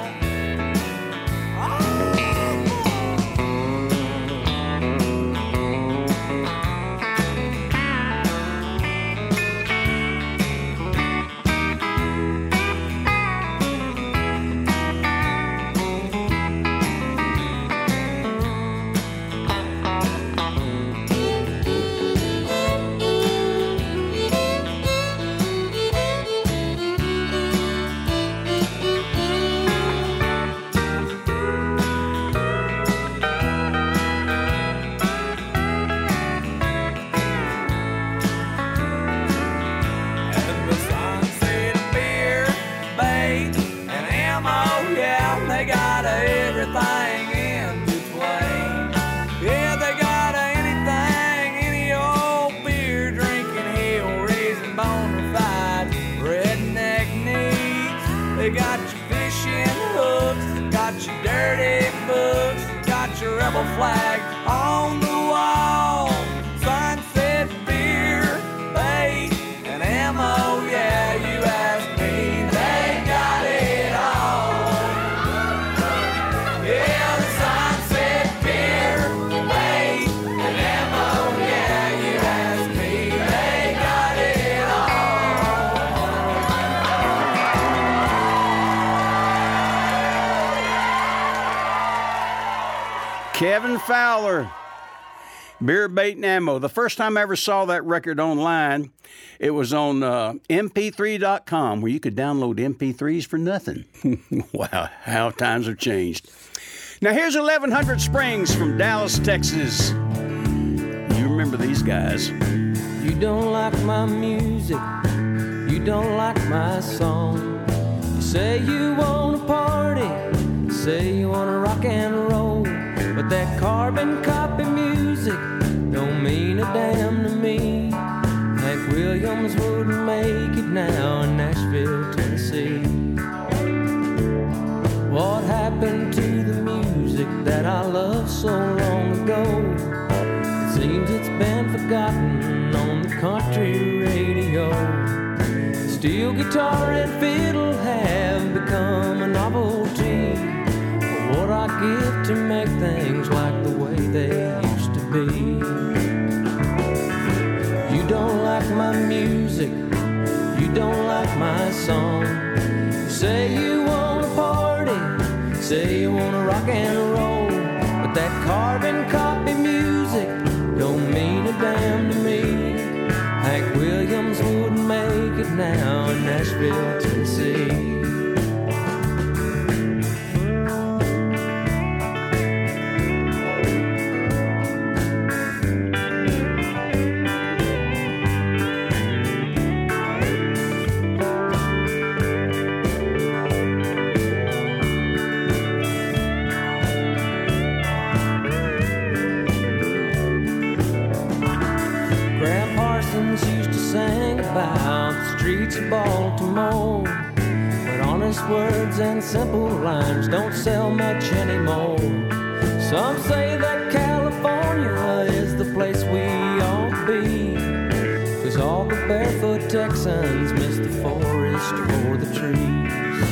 And the sign said beer, bait, and ammo, yeah, they got everything in between. Yeah, they got anything, any old beer drinking, hill raising, bona fide redneck needs. They got your fishing hooks, got your dirty books, got your rebel flag on the wall. Sign said beer, bait, and ammo, yeah, you ask me, they got it all. Yeah, the sign said beer, bait, and ammo, yeah, you ask me, they got it Kevin Fowler, Beer, Bait, and Ammo. The first time I ever saw that record online, it was on uh, M P three dot com, where you could download M P threes for nothing. Wow, how times have changed. Now here's eleven hundred Springs from Dallas, Texas. You remember these guys. You don't like my music, you don't like my song. You say you wanna party, say you wanna rock and roll, but that carbon copy music don't mean a damn to me. Hank Williams wouldn't make it now in Nashville, Tennessee. What happened to the music that I loved so long ago? It seems it's been forgotten on the country radio. Steel guitar and fiddle have become a novelty. What I give to make things like the way they used to be. You don't like my music, you don't like my song. You say you wanna party, say you wanna rock and roll, but that carbon copy music don't mean a damn to me. Hank Williams wouldn't make it now in Nashville, Tennessee. Baltimore, but honest words and simple lines don't sell much anymore. Some say that California is the place we ought to be, 'cause all the barefoot Texans miss the forest for the trees.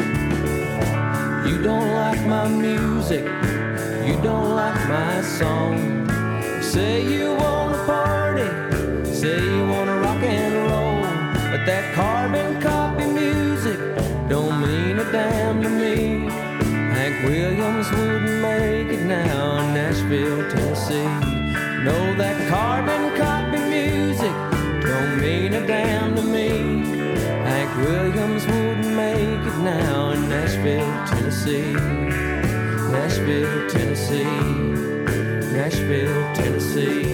You don't like my music, you don't like my song. You say you wanna party, say you wanna rock and roll, but that carbon copy music don't mean a damn to me. Hank Williams wouldn't make it now in Nashville, Tennessee. No, that carbon copy music don't mean a damn to me. Hank Williams wouldn't make it now in Nashville, Tennessee. Nashville, Tennessee. Nashville, Tennessee.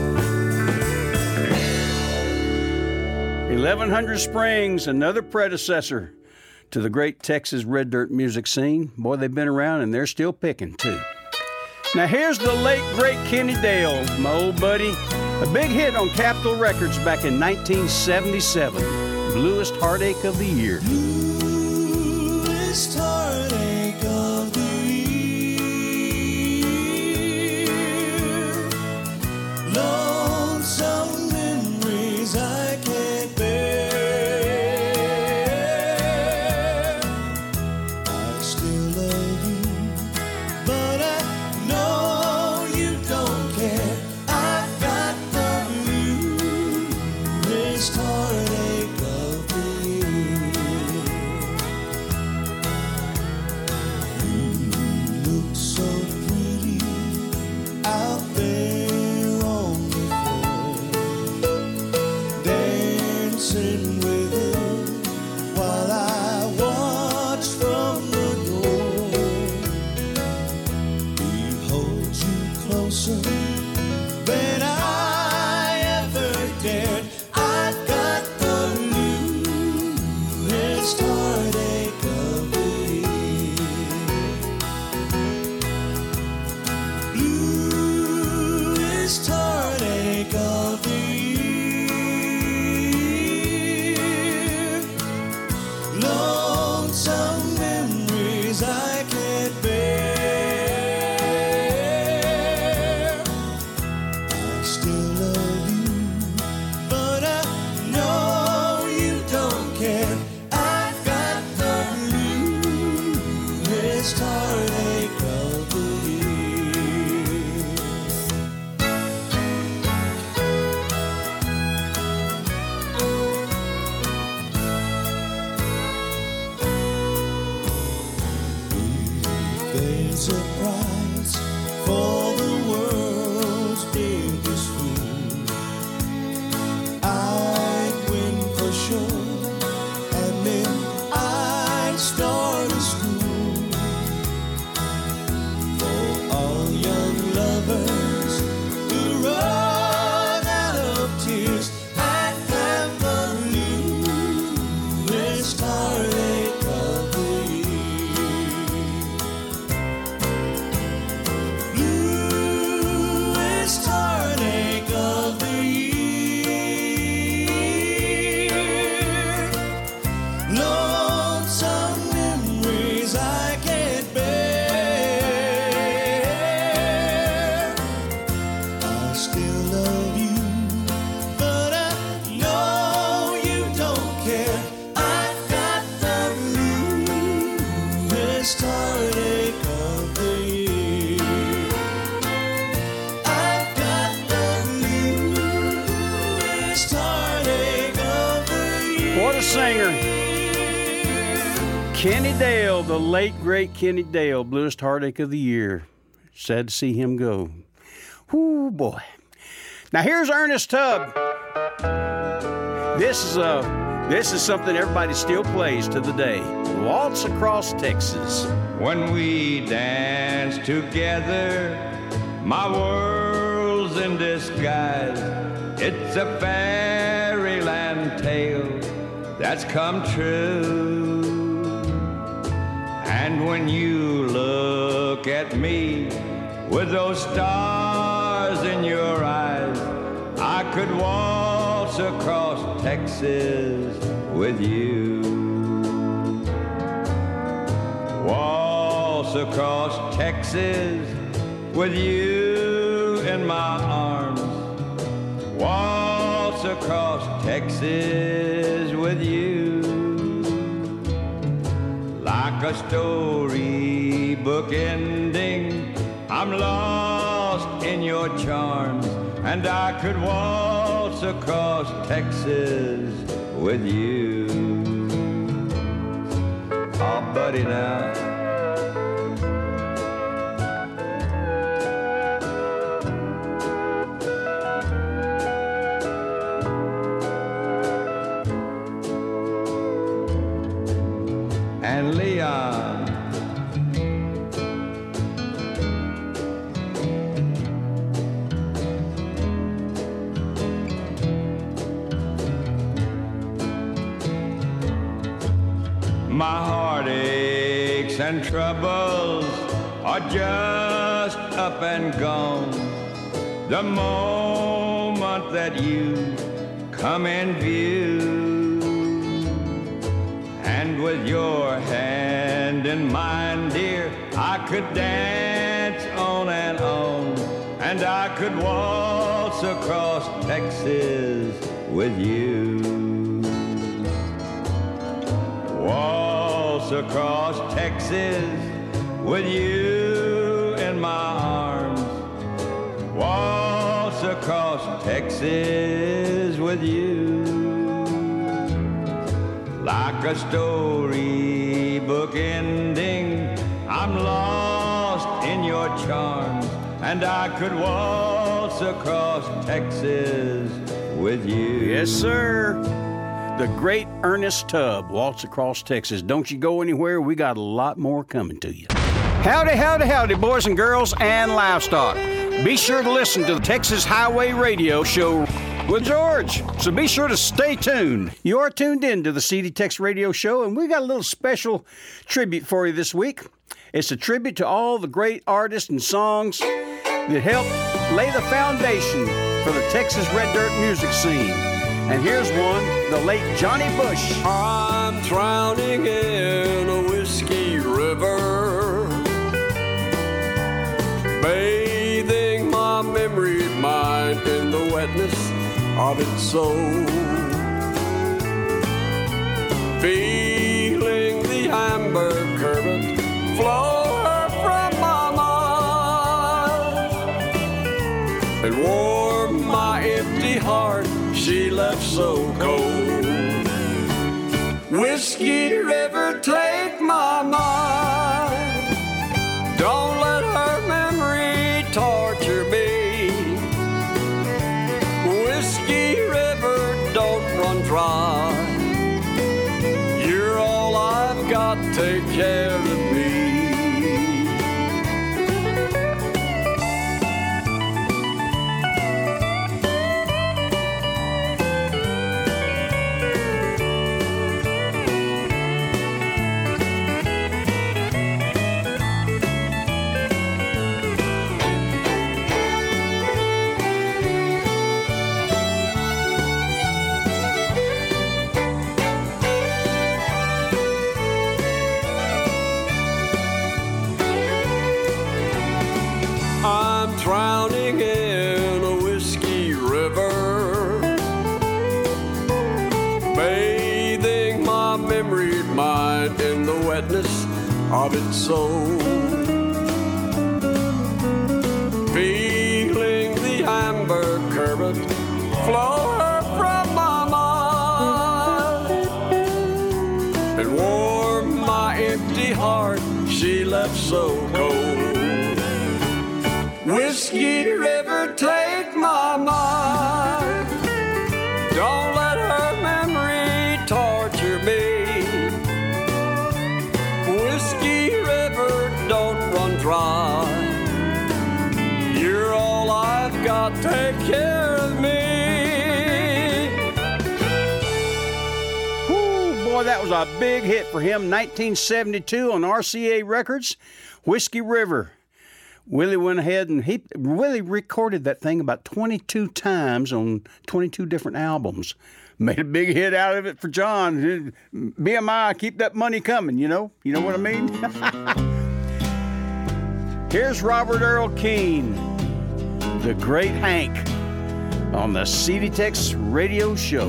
eleven hundred Springs, another predecessor to the great Texas red dirt music scene. Boy, they've been around and they're still picking, too. Now, here's the late, great Kenny Dale, my old buddy. A big hit on Capitol Records back in nineteen seventy-seven. Bluest Heartache of the Year. Bluest heartache of the year. Lonesome memories I can't bear. I still love you, but I know you don't care. I've got the bluest heartache of the year. You look so pretty out there on the floor, dancing with him while I watch from the door. He holds you closer than I ever dared. I've got the bluest heartache of the year. Bluest heartache of the year. Lonesome memories I can't bear. I still love you, but I know you don't care. I've got the bluest heartache of the year. There's a prize for the world's biggest fool. I'd win for sure, and then I'd start a school for all young lovers who run out of tears. I'd have the bluest heartache of the year. Bluest heartache of the year. Lonesome memories I can't bear. I still love you, but I know you don't care. I've got the bluest heartache of the year. I've got the bluest heartache of the year. What a singer. Kenny Dale, the late, great Kenny Dale, Bluest Heartache of the Year. Sad to see him go. Whoo, boy. Now, here's Ernest Tubb. This is a, this is something everybody still plays to the day. Waltz Across Texas. When we dance together, my world's in disguise. It's a fairyland tale that's come true. And when you look at me with those stars in your eyes, I could waltz across Texas with you. Waltz across Texas with you in my arms. Waltz across Texas with you. Like a storybook ending, I'm lost in your charms, and I could waltz across Texas with you. Oh, buddy, now. And Leon. my heartaches and troubles are just up and gone. The moment that you come in view, and with your hand in mine, dear, I could dance on and on, and I could waltz across Texas with you. Waltz across Texas with you in my arms. Waltz across Texas with you. Like a storybook ending, I'm lost in your charms, and I could waltz across Texas with you. Yes, sir. The great Ernest Tubb, Waltz Across Texas. Don't you go anywhere. We got a lot more coming to you. Howdy, howdy, howdy, boys and girls and livestock. Be sure to listen to the Texas Highway Radio Show with George. So be sure to stay tuned. You are tuned in to the C D Tex Radio Show, and we got a little special tribute for you this week. It's a tribute to all the great artists and songs that helped lay the foundation for the Texas Red Dirt music scene. And here's one, the late Johnny Bush. I'm drowning in a whiskey river, bathing my memory mind in the wetness of its soul, feeling the amber current flow her from my mind, and warm my empty heart she left so cold. Whiskey River, take my mind. Don't let her memory torture me. Whiskey River, don't run dry. You're all I've got, take care of me. Drowning in a whiskey river, bathing my memory mind in the wetness of its soul, feeling the amber current flow her from my mind, and warm my empty heart she left so cold. Whiskey River, take my mind. Don't let her memory torture me. Whiskey River, don't run dry. You're all I've got, take care of me. Whoo, boy, that was a big hit for him. nineteen seventy-two on R C A Records, Whiskey River. Willie went ahead and he Willie recorded that thing about twenty-two times on twenty-two different albums. Made a big hit out of it for John. B M I, keep that money coming, you know? You know what I mean? Here's Robert Earl Keen, the Great Hank, on the C D Tex Radio Show.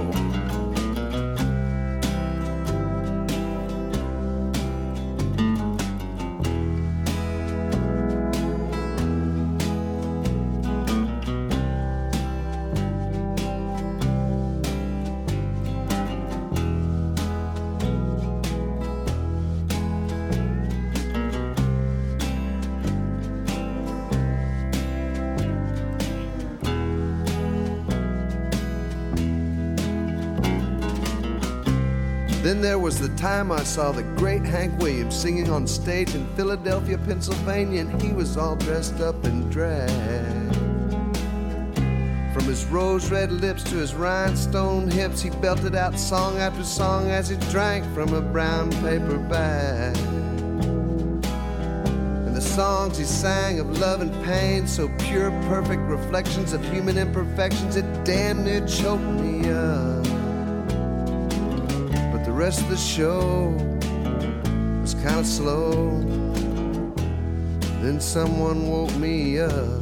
Then there was the time I saw the great Hank Williams singing on stage in Philadelphia, Pennsylvania, and he was all dressed up in drag. From From his rose-red lips to his rhinestone hips, he belted out song after song as he drank from a brown paper bag. And the songs he sang of love and pain, so pure, perfect reflections of human imperfections, it damn near choked me up. But the rest of the show was kind of slow. Then someone woke me up.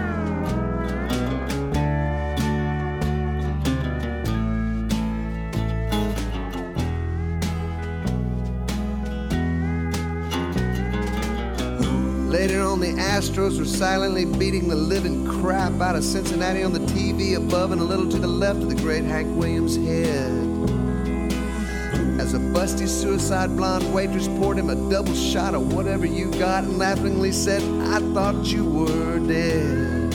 Later on, the Astros were silently beating the living crap out of Cincinnati on the T V above and a little to the left of the great Hank Williams' head. As a busty suicide blonde waitress poured him a double shot of whatever you got and laughingly said, I thought you were dead.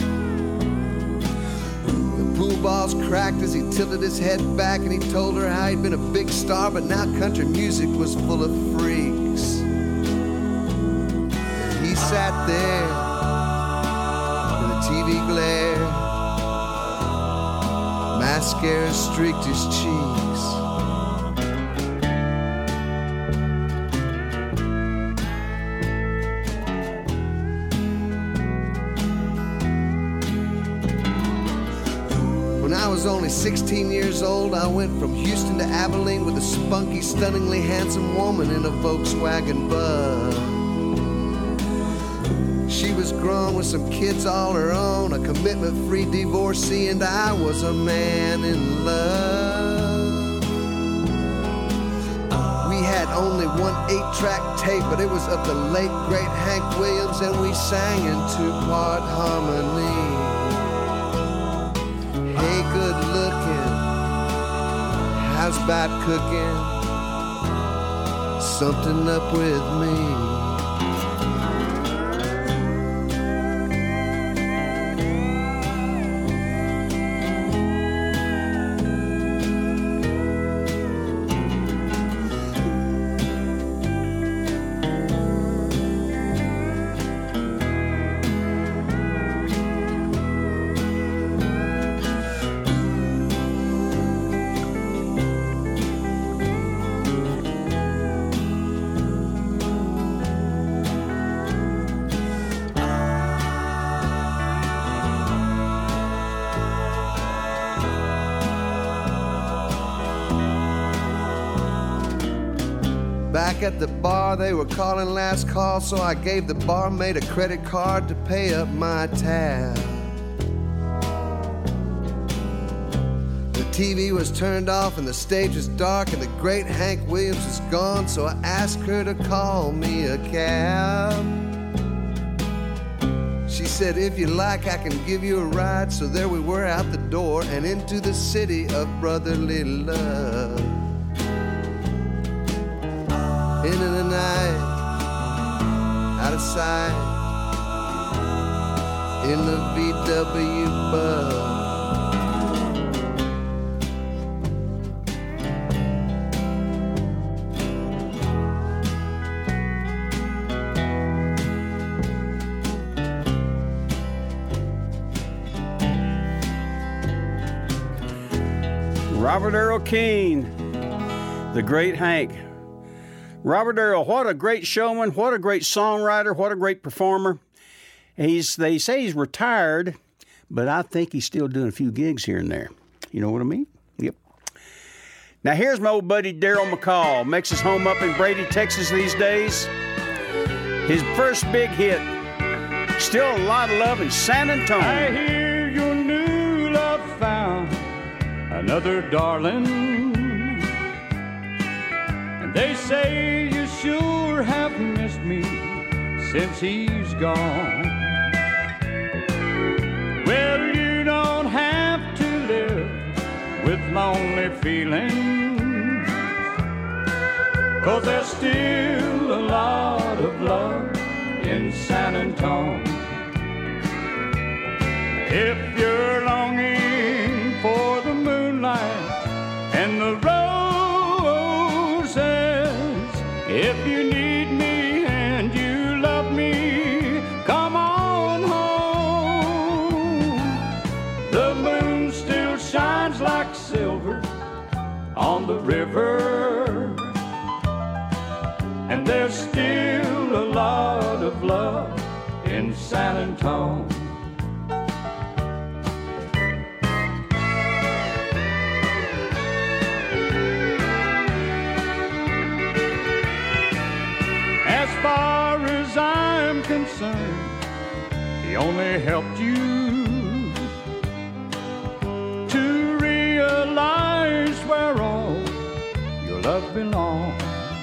The pool balls cracked as he tilted his head back and he told her how he'd been a big star, but now country music was full of freaks. He sat there in the T V glare. Mascara streaked his cheeks. When I was only sixteen years old, I went from Houston to Abilene with a spunky, stunningly handsome woman in a Volkswagen Bug. She was grown with some kids all her own, a commitment-free divorcee, and I was a man in love. We had only one eight-track tape, but it was of the late, great Hank Williams, and we sang in two-part harmony. Hey, good looking, how's about cooking? Something up with me. Back at the bar, they were calling last call, so I gave the barmaid a credit card to pay up my tab. The T V was turned off and the stage was dark and the great Hank Williams was gone, so I asked her to call me a cab. She said, if you like, I can give you a ride. So there we were out the door and into the city of brotherly love. Into the night, out of sight, in the V W Bug. Robert Earl Keen, the great Hank. Robert Earl, what a great showman, what a great songwriter, what a great performer. He's, they say he's retired, but I think he's still doing a few gigs here and there. You know what I mean? Yep. Now here's my old buddy Daryl McCall. Makes his home up in Brady, Texas these days. His first big hit, Still a Lot of Love in San Antonio. I hear your new love found another darling. They say you sure have missed me since he's gone. Well, you don't have to live with lonely feelings, 'cause there's still a lot of love in San Antonio. If you're longing for the moonlight and the if you need me and you love me, come on home. The moon like silver on the river. And there's still a lot of love in San Antone. As far as I'm concerned, he only helped you to realize where all your love belongs.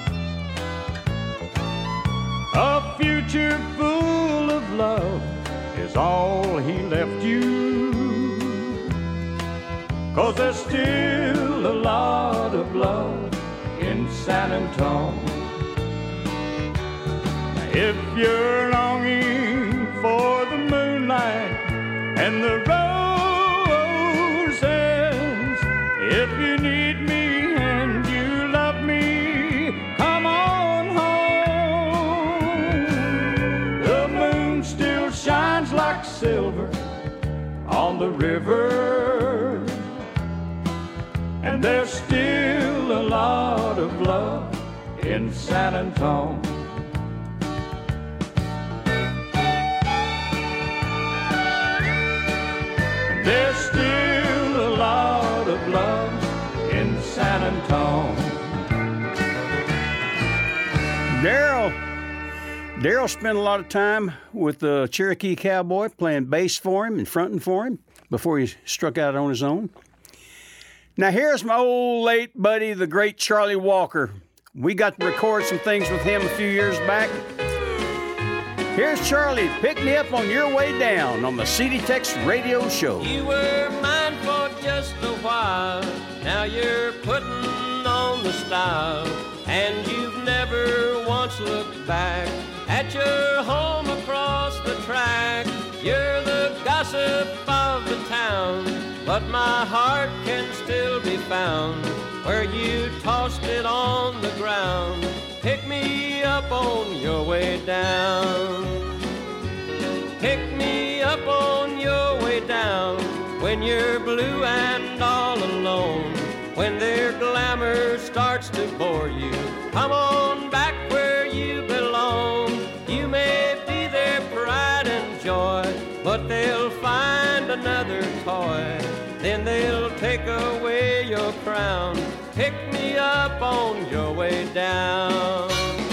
A future full of love is all he left you, 'cause there's still a lot of love in San Antone. If you're longing for the moonlight and the roses, if you need me and you love me, come on home. The moon still shines like silver on the river, and there's still a lot of love in San Antone. There's still a lot of love in San Antone. Daryl. Daryl spent a lot of time with the Cherokee Cowboy playing bass for him and fronting for him before he struck out on his own. Now here's my old late buddy, the great Charlie Walker. We got to record some things with him a few years back. Here's Charlie, Pick Me Up on Your Way Down on the C D Tex Radio Show. You were mine for just a while, now you're putting on the style, and you've never once looked back at your home across the track. You're the gossip of the town, but my heart can still be found where you tossed it on the ground. Pick me up on your way down. Pick me up on your way down when you're blue and all alone. When their glamour starts to bore you, come on back where you belong. You may be their pride and joy, but they'll find another toy. Then they'll take away your crown. Pick me up on your way down.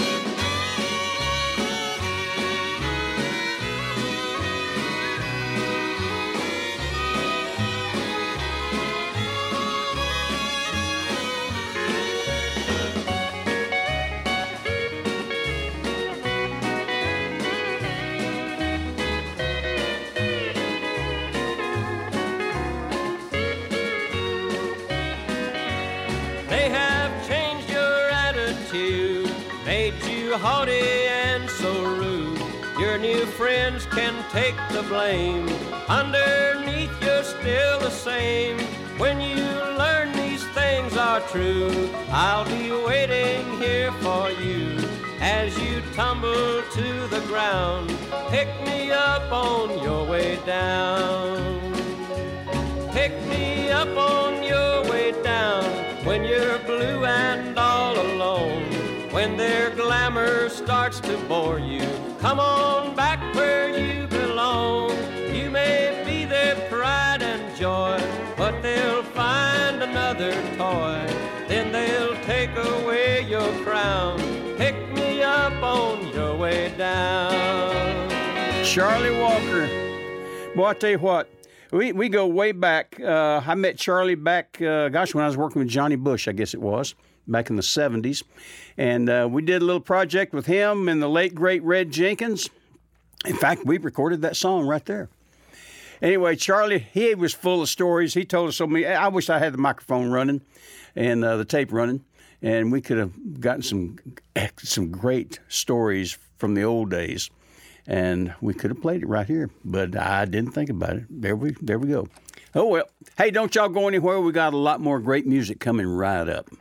Haughty and so rude, your new friends can take the blame. Underneath you're still the same. When you learn these things are true, I'll be waiting here for you as you tumble to the ground. Pick me up on your way down. Pick me up on your way down when you're blue and all alone. When their glamour starts to bore you, come on back where you belong. You may be their pride and joy, but they'll find another toy. Then they'll take away your crown. Pick me up on your way down. Charlie Walker. Boy, I tell you what, we, we go way back. Uh, I met Charlie back, uh, gosh, when I was working with Johnny Bush, I guess it was, back in the seventies. And uh, we did a little project with him and the late, great Red Jenkins. In fact, we recorded that song right there. Anyway, Charlie, he was full of stories. He told us so many. I wish I had the microphone running and uh, the tape running, and we could have gotten some some great stories from the old days. And we could have played it right here, but I didn't think about it. There we, there we go. Oh, well. Hey, don't y'all go anywhere. We got a lot more great music coming right up.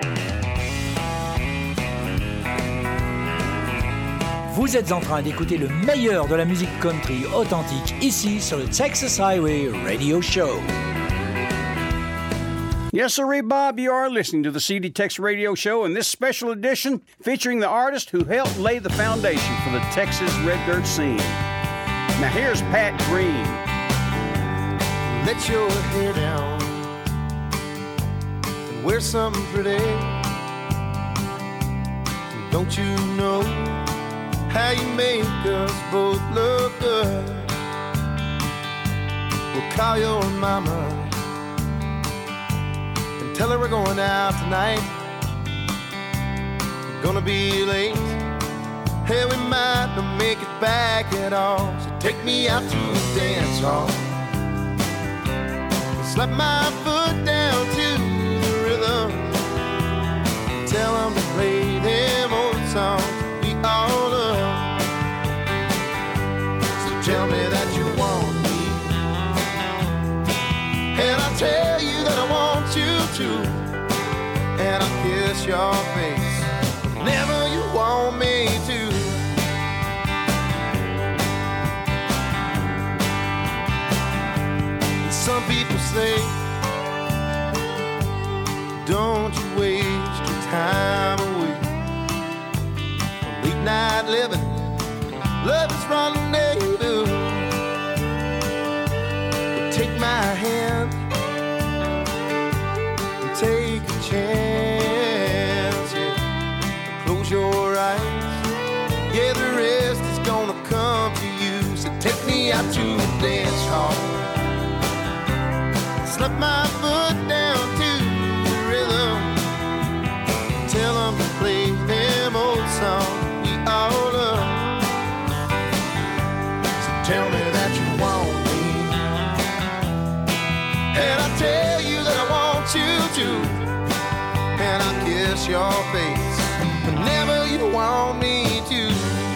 Vous êtes en train d'écouter le meilleur de la musique country authentique ici sur le Texas Highway Radio Show. Yes, sirree, Bob, you are listening to the C D Tex Radio Show, and this special edition featuring the artist who helped lay the foundation for the Texas red dirt scene. Now here's Pat Green. Let your hair down and wear something pretty. Don't you know how you make us both look good? We'll call your mama, tell her we're going out tonight. We're gonna be late. Hey, we might not make it back at all. So take me out to the dance hall. Slap my foot down to the rhythm. Tell them to play them old songs we all love. So tell me that you want me, and I'll tell you that I want you to, and I'll kiss your face whenever you want me to. And some people say, don't you waste your time away on late night living. Love is rendezvous. But take my hand, take a chance, yeah. Close your eyes, yeah, the rest is gonna come to you. So take me out to the dance hall. Slap my foot down to the rhythm. Tell them to play them old songs we all love. So tell me that you want me, and I tell you that I want you to, and I'll kiss your face whenever you want me to.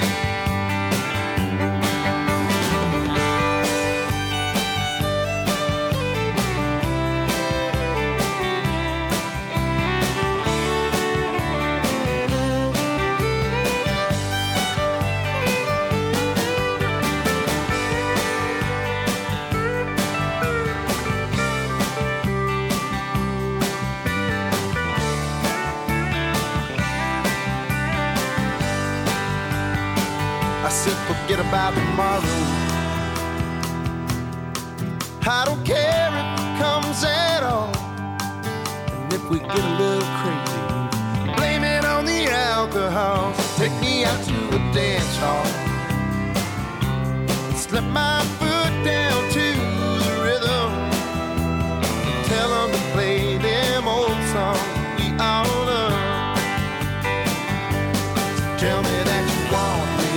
Forget about tomorrow. I don't care if it comes at all. And if we get a little crazy, blame it on the alcohol. So take me out to the dance hall and slap my foot down to the rhythm. Tell them to play them old songs we all love. So tell me that you want me,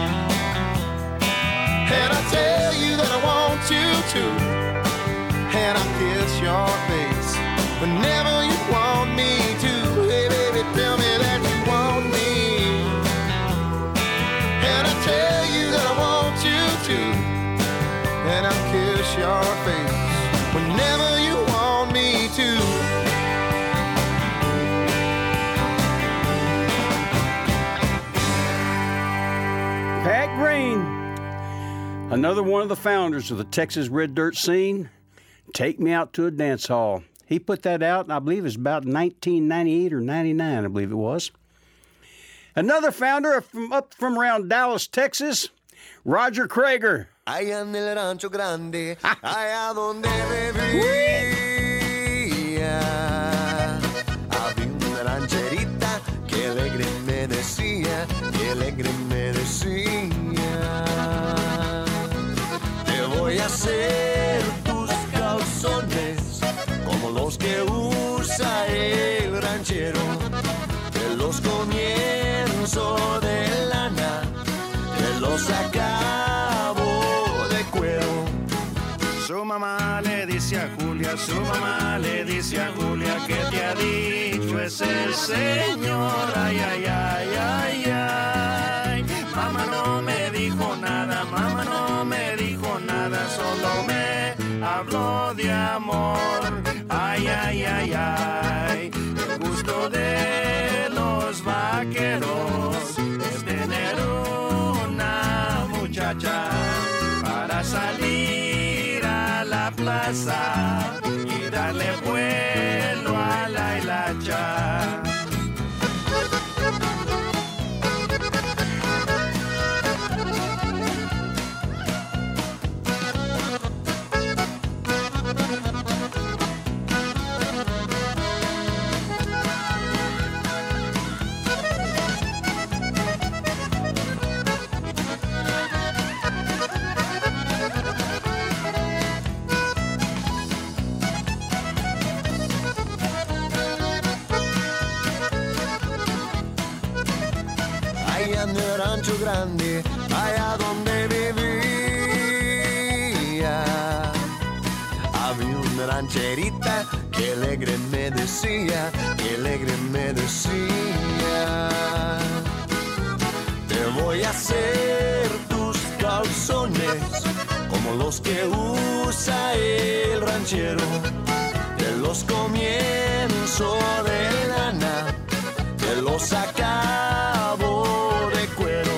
and I tell you that I want you to, and I'll kiss your face whenever you want me to. Hey baby, tell me that you want me, and I tell you that I want you to, and I'll kiss your face whenever you want me to. Pat Green, another one of the founders of the Texas red dirt scene. Take Me Out to a Dance Hall. He put that out, I believe it was about nineteen ninety-eight or ninety-nine, I believe it was. Another founder from up from around Dallas, Texas, Roger Creager. Allá en el rancho grande, allá donde vivía, había una rancherita que alegre me decía, que alegre me decía, te voy a hacer tus calzones como los que usa el ranchero, de los comienzos de lana, de los acabo de cuero. Su mamá le dice a Julia, su mamá le dice a Julia, que te ha dicho ese señor, ay, ay, ay, ay, ay. Mamá no me dijo nada, mamá no me dijo nada, solo me habló de amor, ay, ay, ay, ay. El gusto de los vaqueros es tener una muchacha para salir a la plaza y darle vuelta rancho grande, allá donde vivía. Había una rancherita que alegre me decía, que alegre me decía. Te voy a hacer tus calzones como los que usa el ranchero. De los comienzo de lana, te los acabo de cuero.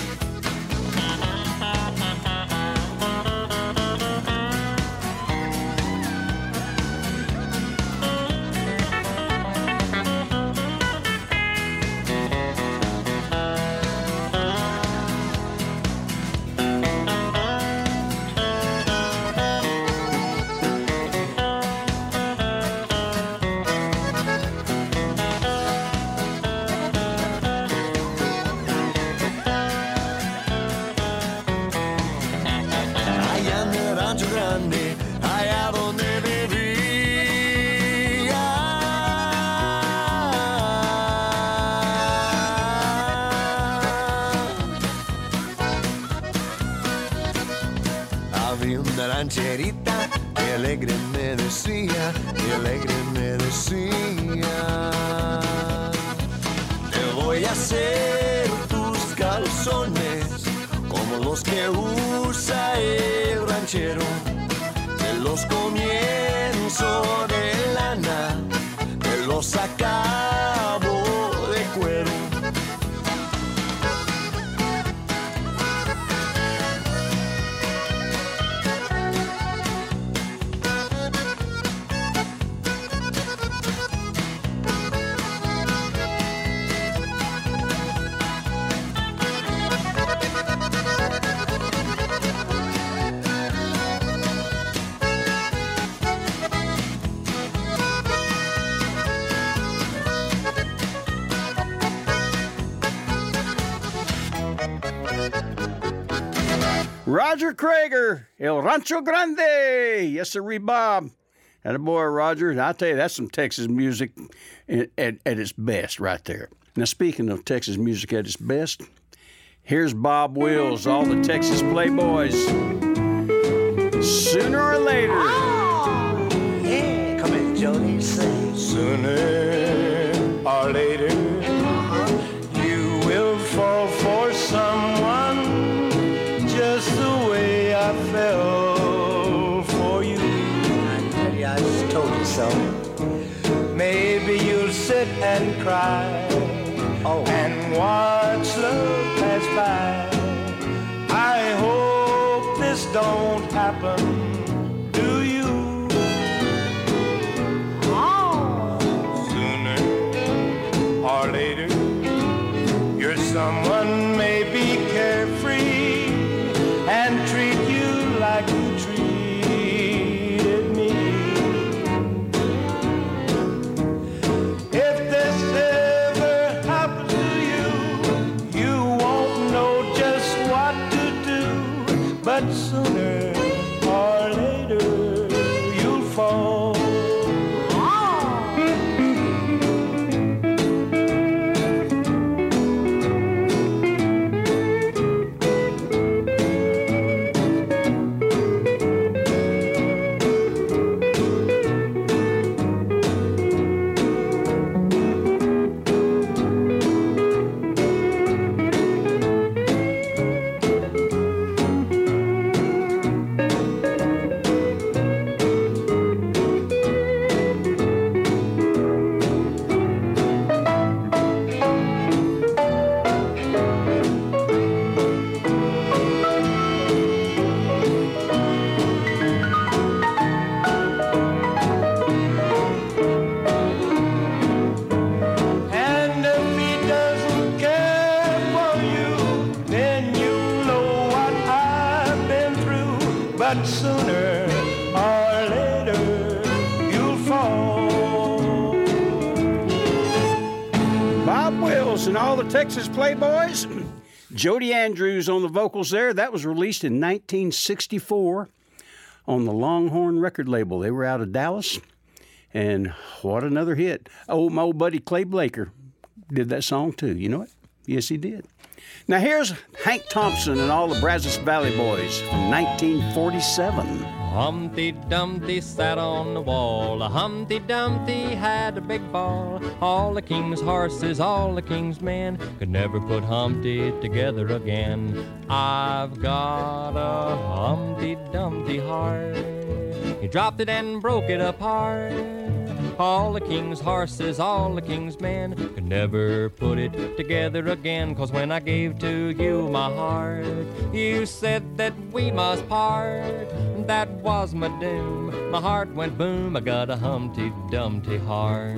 Rancherita, que alegre me decía, que alegre me decía. Te voy a hacer tus calzones como los que usa el ranchero. De los comienzo de lana, te los acabo de cuero. Roger Krager, El Rancho Grande. Yes, sir, Bob. And a boy, Roger. And I tell you, that's some Texas music at, at, at its best right there. Now, speaking of Texas music at its best, here's Bob Wills, all the Texas Playboys. Sooner or later. Oh, yeah. Come in, Jody, sing. Sooner or later, you will fall for someone just the way I fell for you. I tell you, I just told you so. Maybe you'll sit and cry, oh, and watch love pass by. I hope this don't happen to you. Oh. Sooner or later, you're someone maybe carefree and treat you like you treated me. If this ever happens to you, you won't know just what to do. But sooner or later, you'll fall. But sooner or later, you'll fall. Bob Wills and all the Texas Playboys. Jody Andrews on the vocals there. That was released in nineteen sixty-four on the Longhorn record label. They were out of Dallas. And what another hit. Oh, my old buddy Clay Blaker did that song too. You know it? Yes, he did. Now here's Hank Thompson and all the Brazos Valley Boys from nineteen forty-seven. Humpty Dumpty sat on the wall. A Humpty Dumpty had a big ball. All the king's horses, all the king's men could never put Humpty together again. I've got a Humpty Dumpty heart. He dropped it and broke it apart. All the king's horses, all the king's men could never put it together again. 'Cause when I gave to you my heart, you said that we must part. That was my doom. My heart went boom. I got a Humpty Dumpty heart.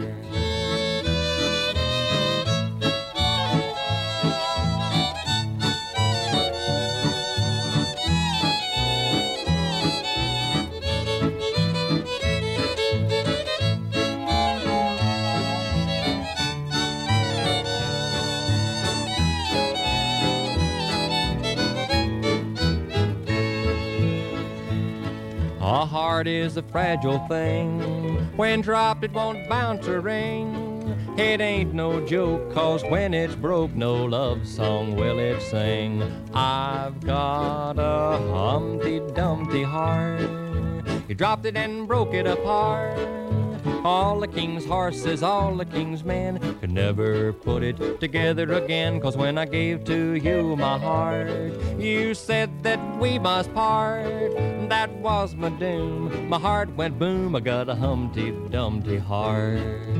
A heart is a fragile thing. When dropped, it won't bounce or ring. It ain't no joke, 'cause when it's broke, no love song will it sing. I've got a Humpty Dumpty heart. He dropped it and broke it apart. All the king's horses, all the king's men could never put it together again. 'Cause when I gave to you my heart, you said that we must part. That was my doom. My heart went boom. I got a Humpty Dumpty heart.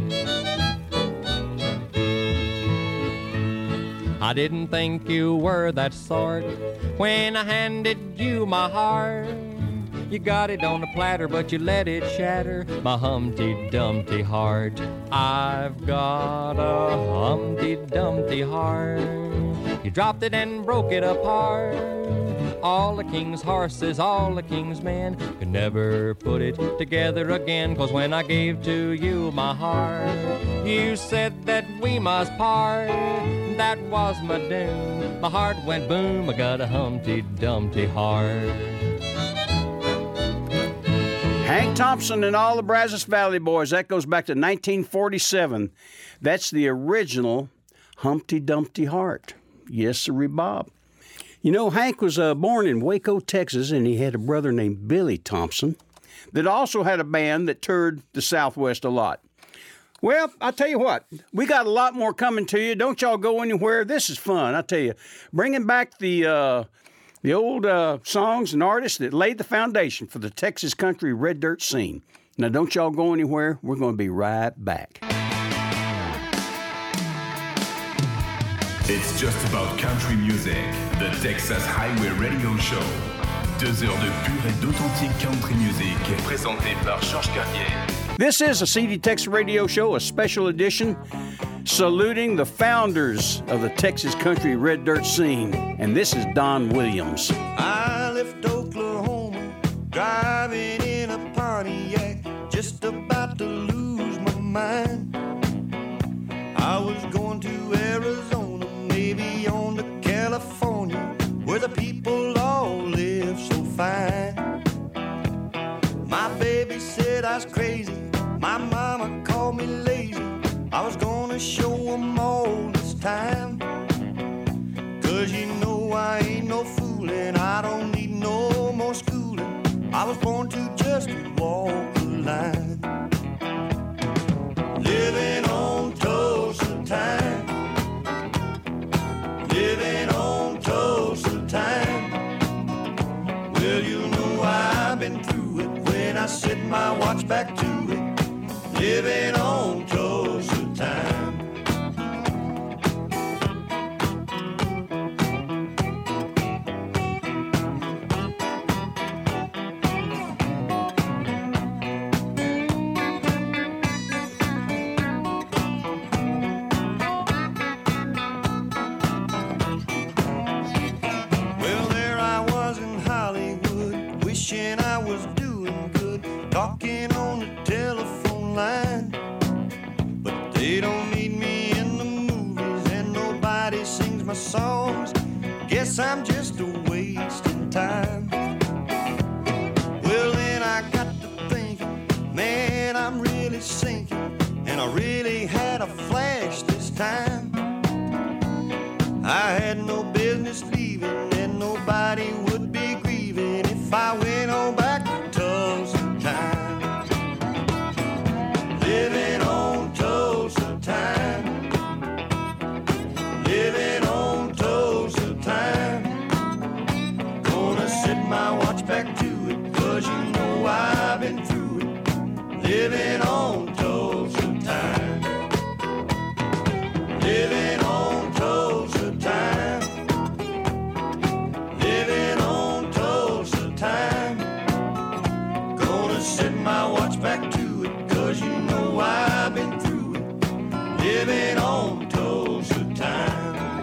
I didn't think you were that sort when I handed you my heart. You got it on a platter, but you let it shatter my Humpty Dumpty heart. I've got a Humpty Dumpty heart. You dropped it and broke it apart. All the king's horses, all the king's men could never put it together again. 'Cause when I gave to you my heart, you said that we must part. That was my doom. My heart went boom. I got a Humpty Dumpty heart. Hank Thompson and all the Brazos Valley Boys. That goes back to nineteen forty-seven. That's the original Humpty Dumpty heart. Yes, sirree, Bob. You know, Hank was uh, born in Waco, Texas, and he had a brother named Billy Thompson that also had a band that toured the Southwest a lot. Well, I'll tell you what, we got a lot more coming to you. Don't y'all go anywhere. This is fun, I tell you. Bringing back the uh, the old uh, songs and artists that laid the foundation for the Texas country red dirt scene. Now, don't y'all go anywhere. We're going to be right back. It's just about country music, the Texas Highway Radio Show. Deux heures de pure et d'authentique country music, présenté par Georges Carrier. This is a C D Texas Radio Show, a special edition, saluting the founders of the Texas country red dirt scene. And this is Don Williams. I left Oklahoma, driving in a Pontiac, just about to lose my mind. I was going to Arizona, maybe on to California, where the people all live so fine. My baby said I was crazy, my mama called me lazy. I was gonna show them all this time. 'Cause you know I ain't no fooling, I don't need no more schooling. I was born to just walk the line. Living on Tulsa time, living on Tulsa time. Well, you know I've been through it when I set my watch back to it. Living on Tulsa time. Talking on the telephone line, but they don't need me in the movies and nobody sings my songs. Guess I'm just a wasting time. Well, then I got to thinking, man, I'm really sinking, and I really had a flash this time. I had no living on Tulsa time. Living on Tulsa time. Living on Tulsa time. Gonna set my watch back to it, cause you know I've been through it. Living on Tulsa time.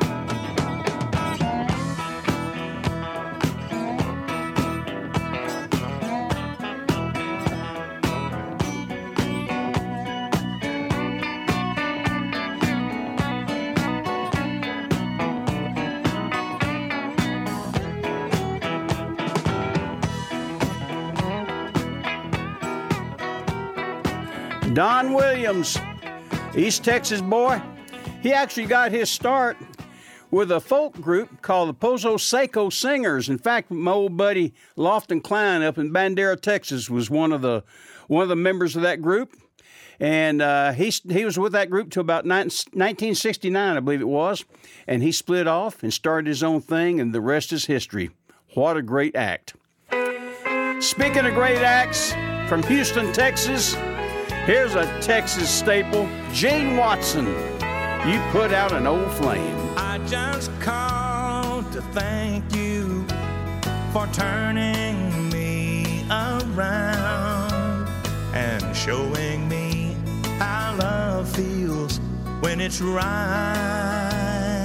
Don Williams, East Texas boy. He actually got his start with a folk group called the Pozo Seco Singers. In fact, my old buddy Lofton Klein up in Bandera, Texas, was one of the one of the members of that group, and uh, he he was with that group till about nineteen sixty-nine, I believe it was, and he split off and started his own thing, and the rest is history. What a great act! Speaking of great acts from Houston, Texas. Here's a Texas staple, Jane Watson. You put out an old flame. I just called to thank you for turning me around and showing me how love feels when it's right.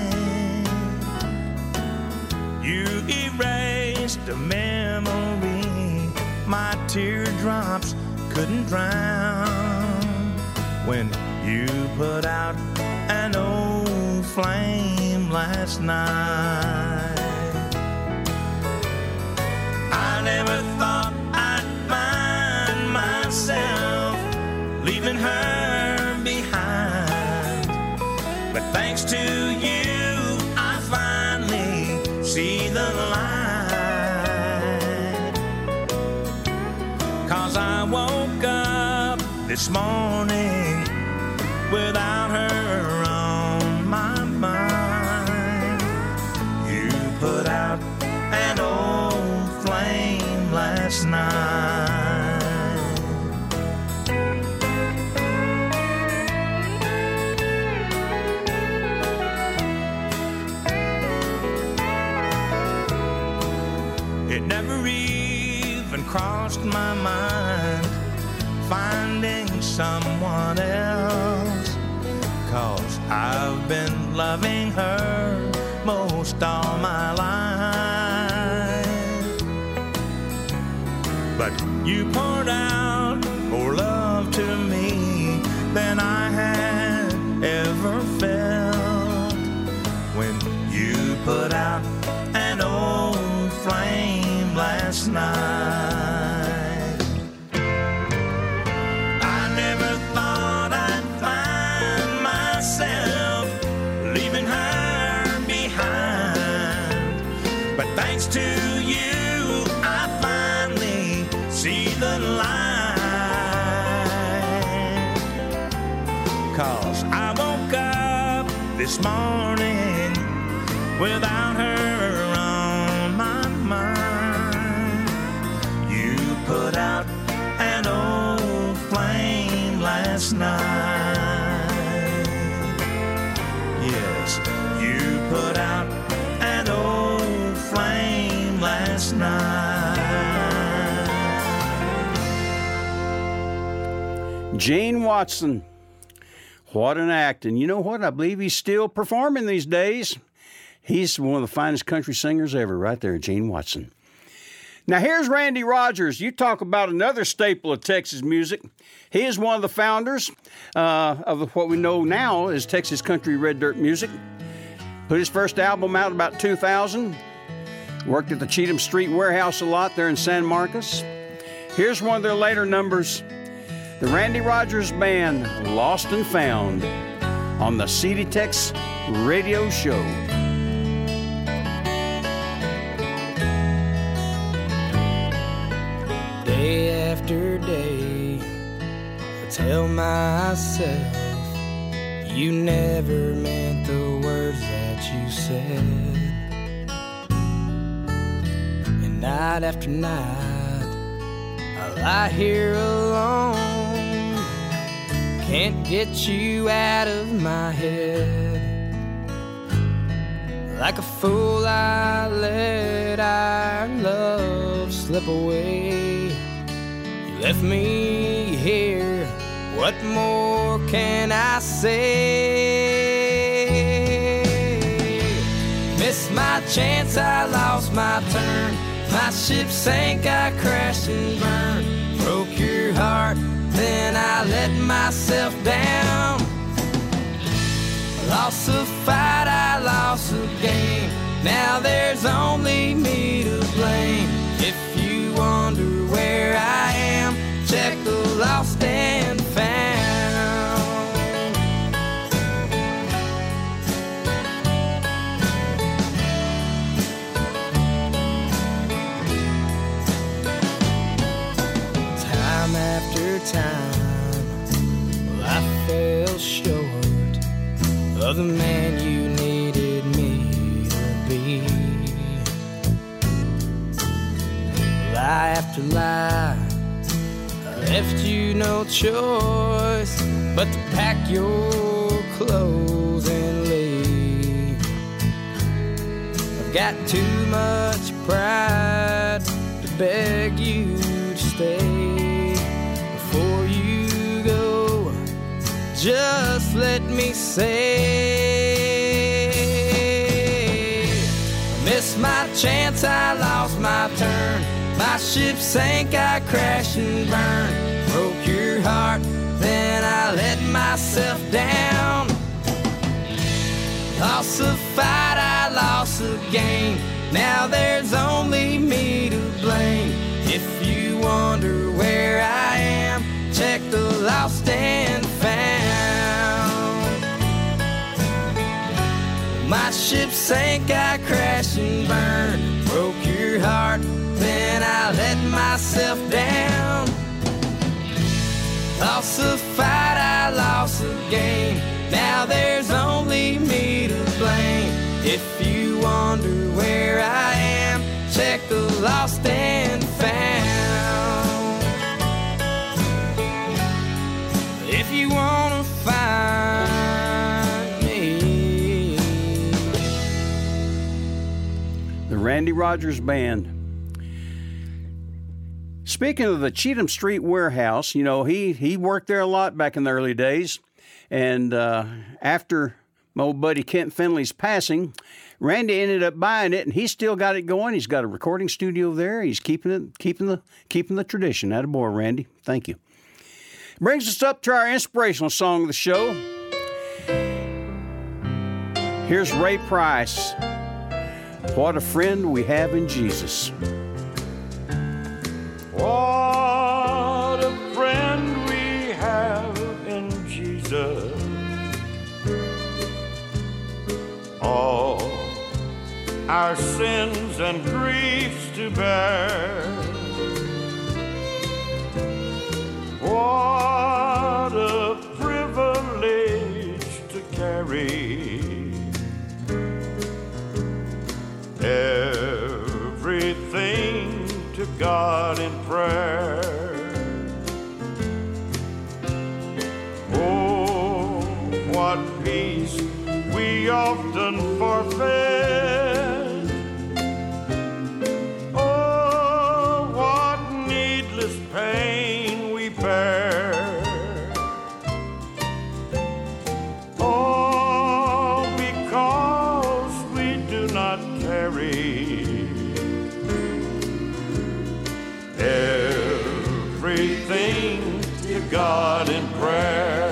You erased a memory my teardrops couldn't drown when you put out an old flame last night. I never thought I'd find myself leaving her behind, but thanks to you I finally see the light. 'Cause I woke up this morning without her on my mind. You put out an old flame last night. It never even crossed my mind finding someone else, 'cause I've been loving her most all my life. But you poured out more love to me than I had ever felt when you put out an old flame last night. Thanks to you, I finally see the light. 'Cause I woke up this morning without her on my mind. You put out an old flame last night. Yes, you put out an old flame last night. Jane Watson. What an act. And you know what? I believe he's still performing these days. He's one of the finest country singers ever right there, Jane Watson. Now here's Randy Rogers. You talk about another staple of Texas music. He is one of the founders uh, of what we know now as Texas Country Red Dirt Music. Put his first album out about two thousand. Worked at the Cheatham Street Warehouse a lot there in San Marcos. Here's one of their later numbers. The Randy Rogers Band, Lost and Found, on the C D Tex Radio Show. Day after day, I tell myself you never meant the words that you said. Night after night, I lie here alone, can't get you out of my head. Like a fool I let our love slip away. You left me here, what more can I say? Missed my chance, I lost my turn. My ship sank, I crashed and burned. Broke your heart, then I let myself down. I lost a fight, I lost a game. Now there's only me to blame. If you wonder where I am, check the lost and found. Time after time, well, I fell short of the man you needed me to be. Lie after lie, I left you no choice but to pack your clothes and leave. I've got too much pride to beg you to stay. Before you go, just let me say, I missed my chance, I lost my turn. My ship sank, I crashed and burned. Broke your heart, then I let myself down. Lost a fight, I lost a game. Now there's only me to blame. If you wonder where I am, check the lost and found. My ship sank, I crashed and burned. Broke your heart, then I let myself down. Lost a fight, I lost a game. Now there's only me to blame. If you wonder where I am, check the lost and found. If you wanna find me. The Randy Rogers Band. Speaking of the Cheatham Street Warehouse, you know, he, he worked there a lot back in the early days. And uh, after my old buddy Kent Finley's passing, Randy ended up buying it, and he's still got it going. He's got a recording studio there. He's keeping it, keeping the, keeping the tradition. Attaboy, Randy. Thank you. Brings us up to our inspirational song of the show. Here's Ray Price. What a friend we have in Jesus. What a friend we have in Jesus. All our sins and griefs to bear. What a privilege to carry everything to God in prayer. Oh, what peace we often forfeit. Oh, what needless pain we bear. Oh, because we do not carry everything to God in prayer.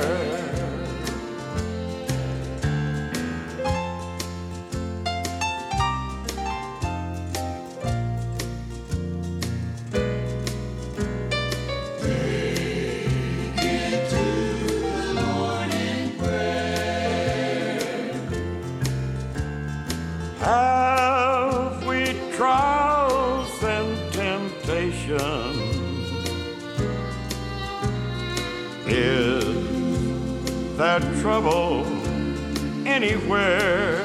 Have we trials and temptations? Is there trouble anywhere?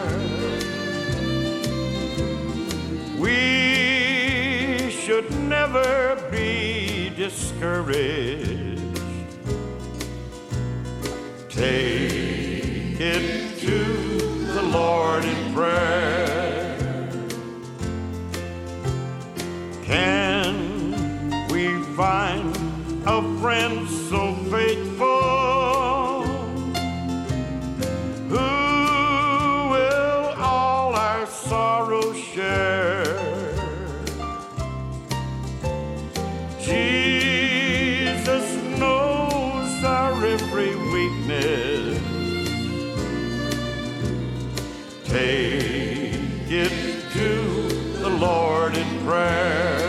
We should never be discouraged. Take it to the Lord in prayer. Can we find a friend so faithful who will all our sorrows share? Jesus knows our every weakness. Take it to the Lord in prayer.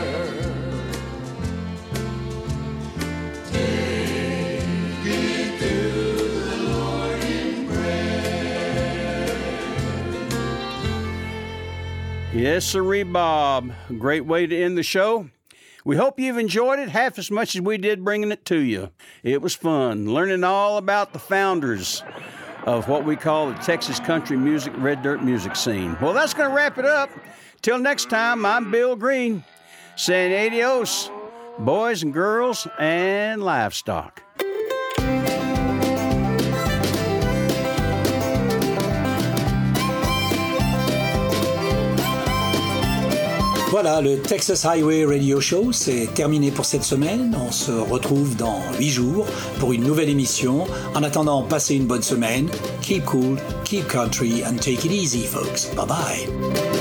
Yes, sirree, Bob. Great way to end the show. We hope you've enjoyed it half as much as we did bringing it to you. It was fun, learning all about the founders of what we call the Texas country music, red dirt music scene. Well, that's going to wrap it up. Till next time, I'm Bill Green, saying adios, boys and girls and livestock. Voilà, le Texas Highway Radio Show, c'est terminé pour cette semaine. On se retrouve dans huit jours pour une nouvelle émission. En attendant, passez une bonne semaine. Keep cool, keep country, and take it easy, folks. Bye-bye.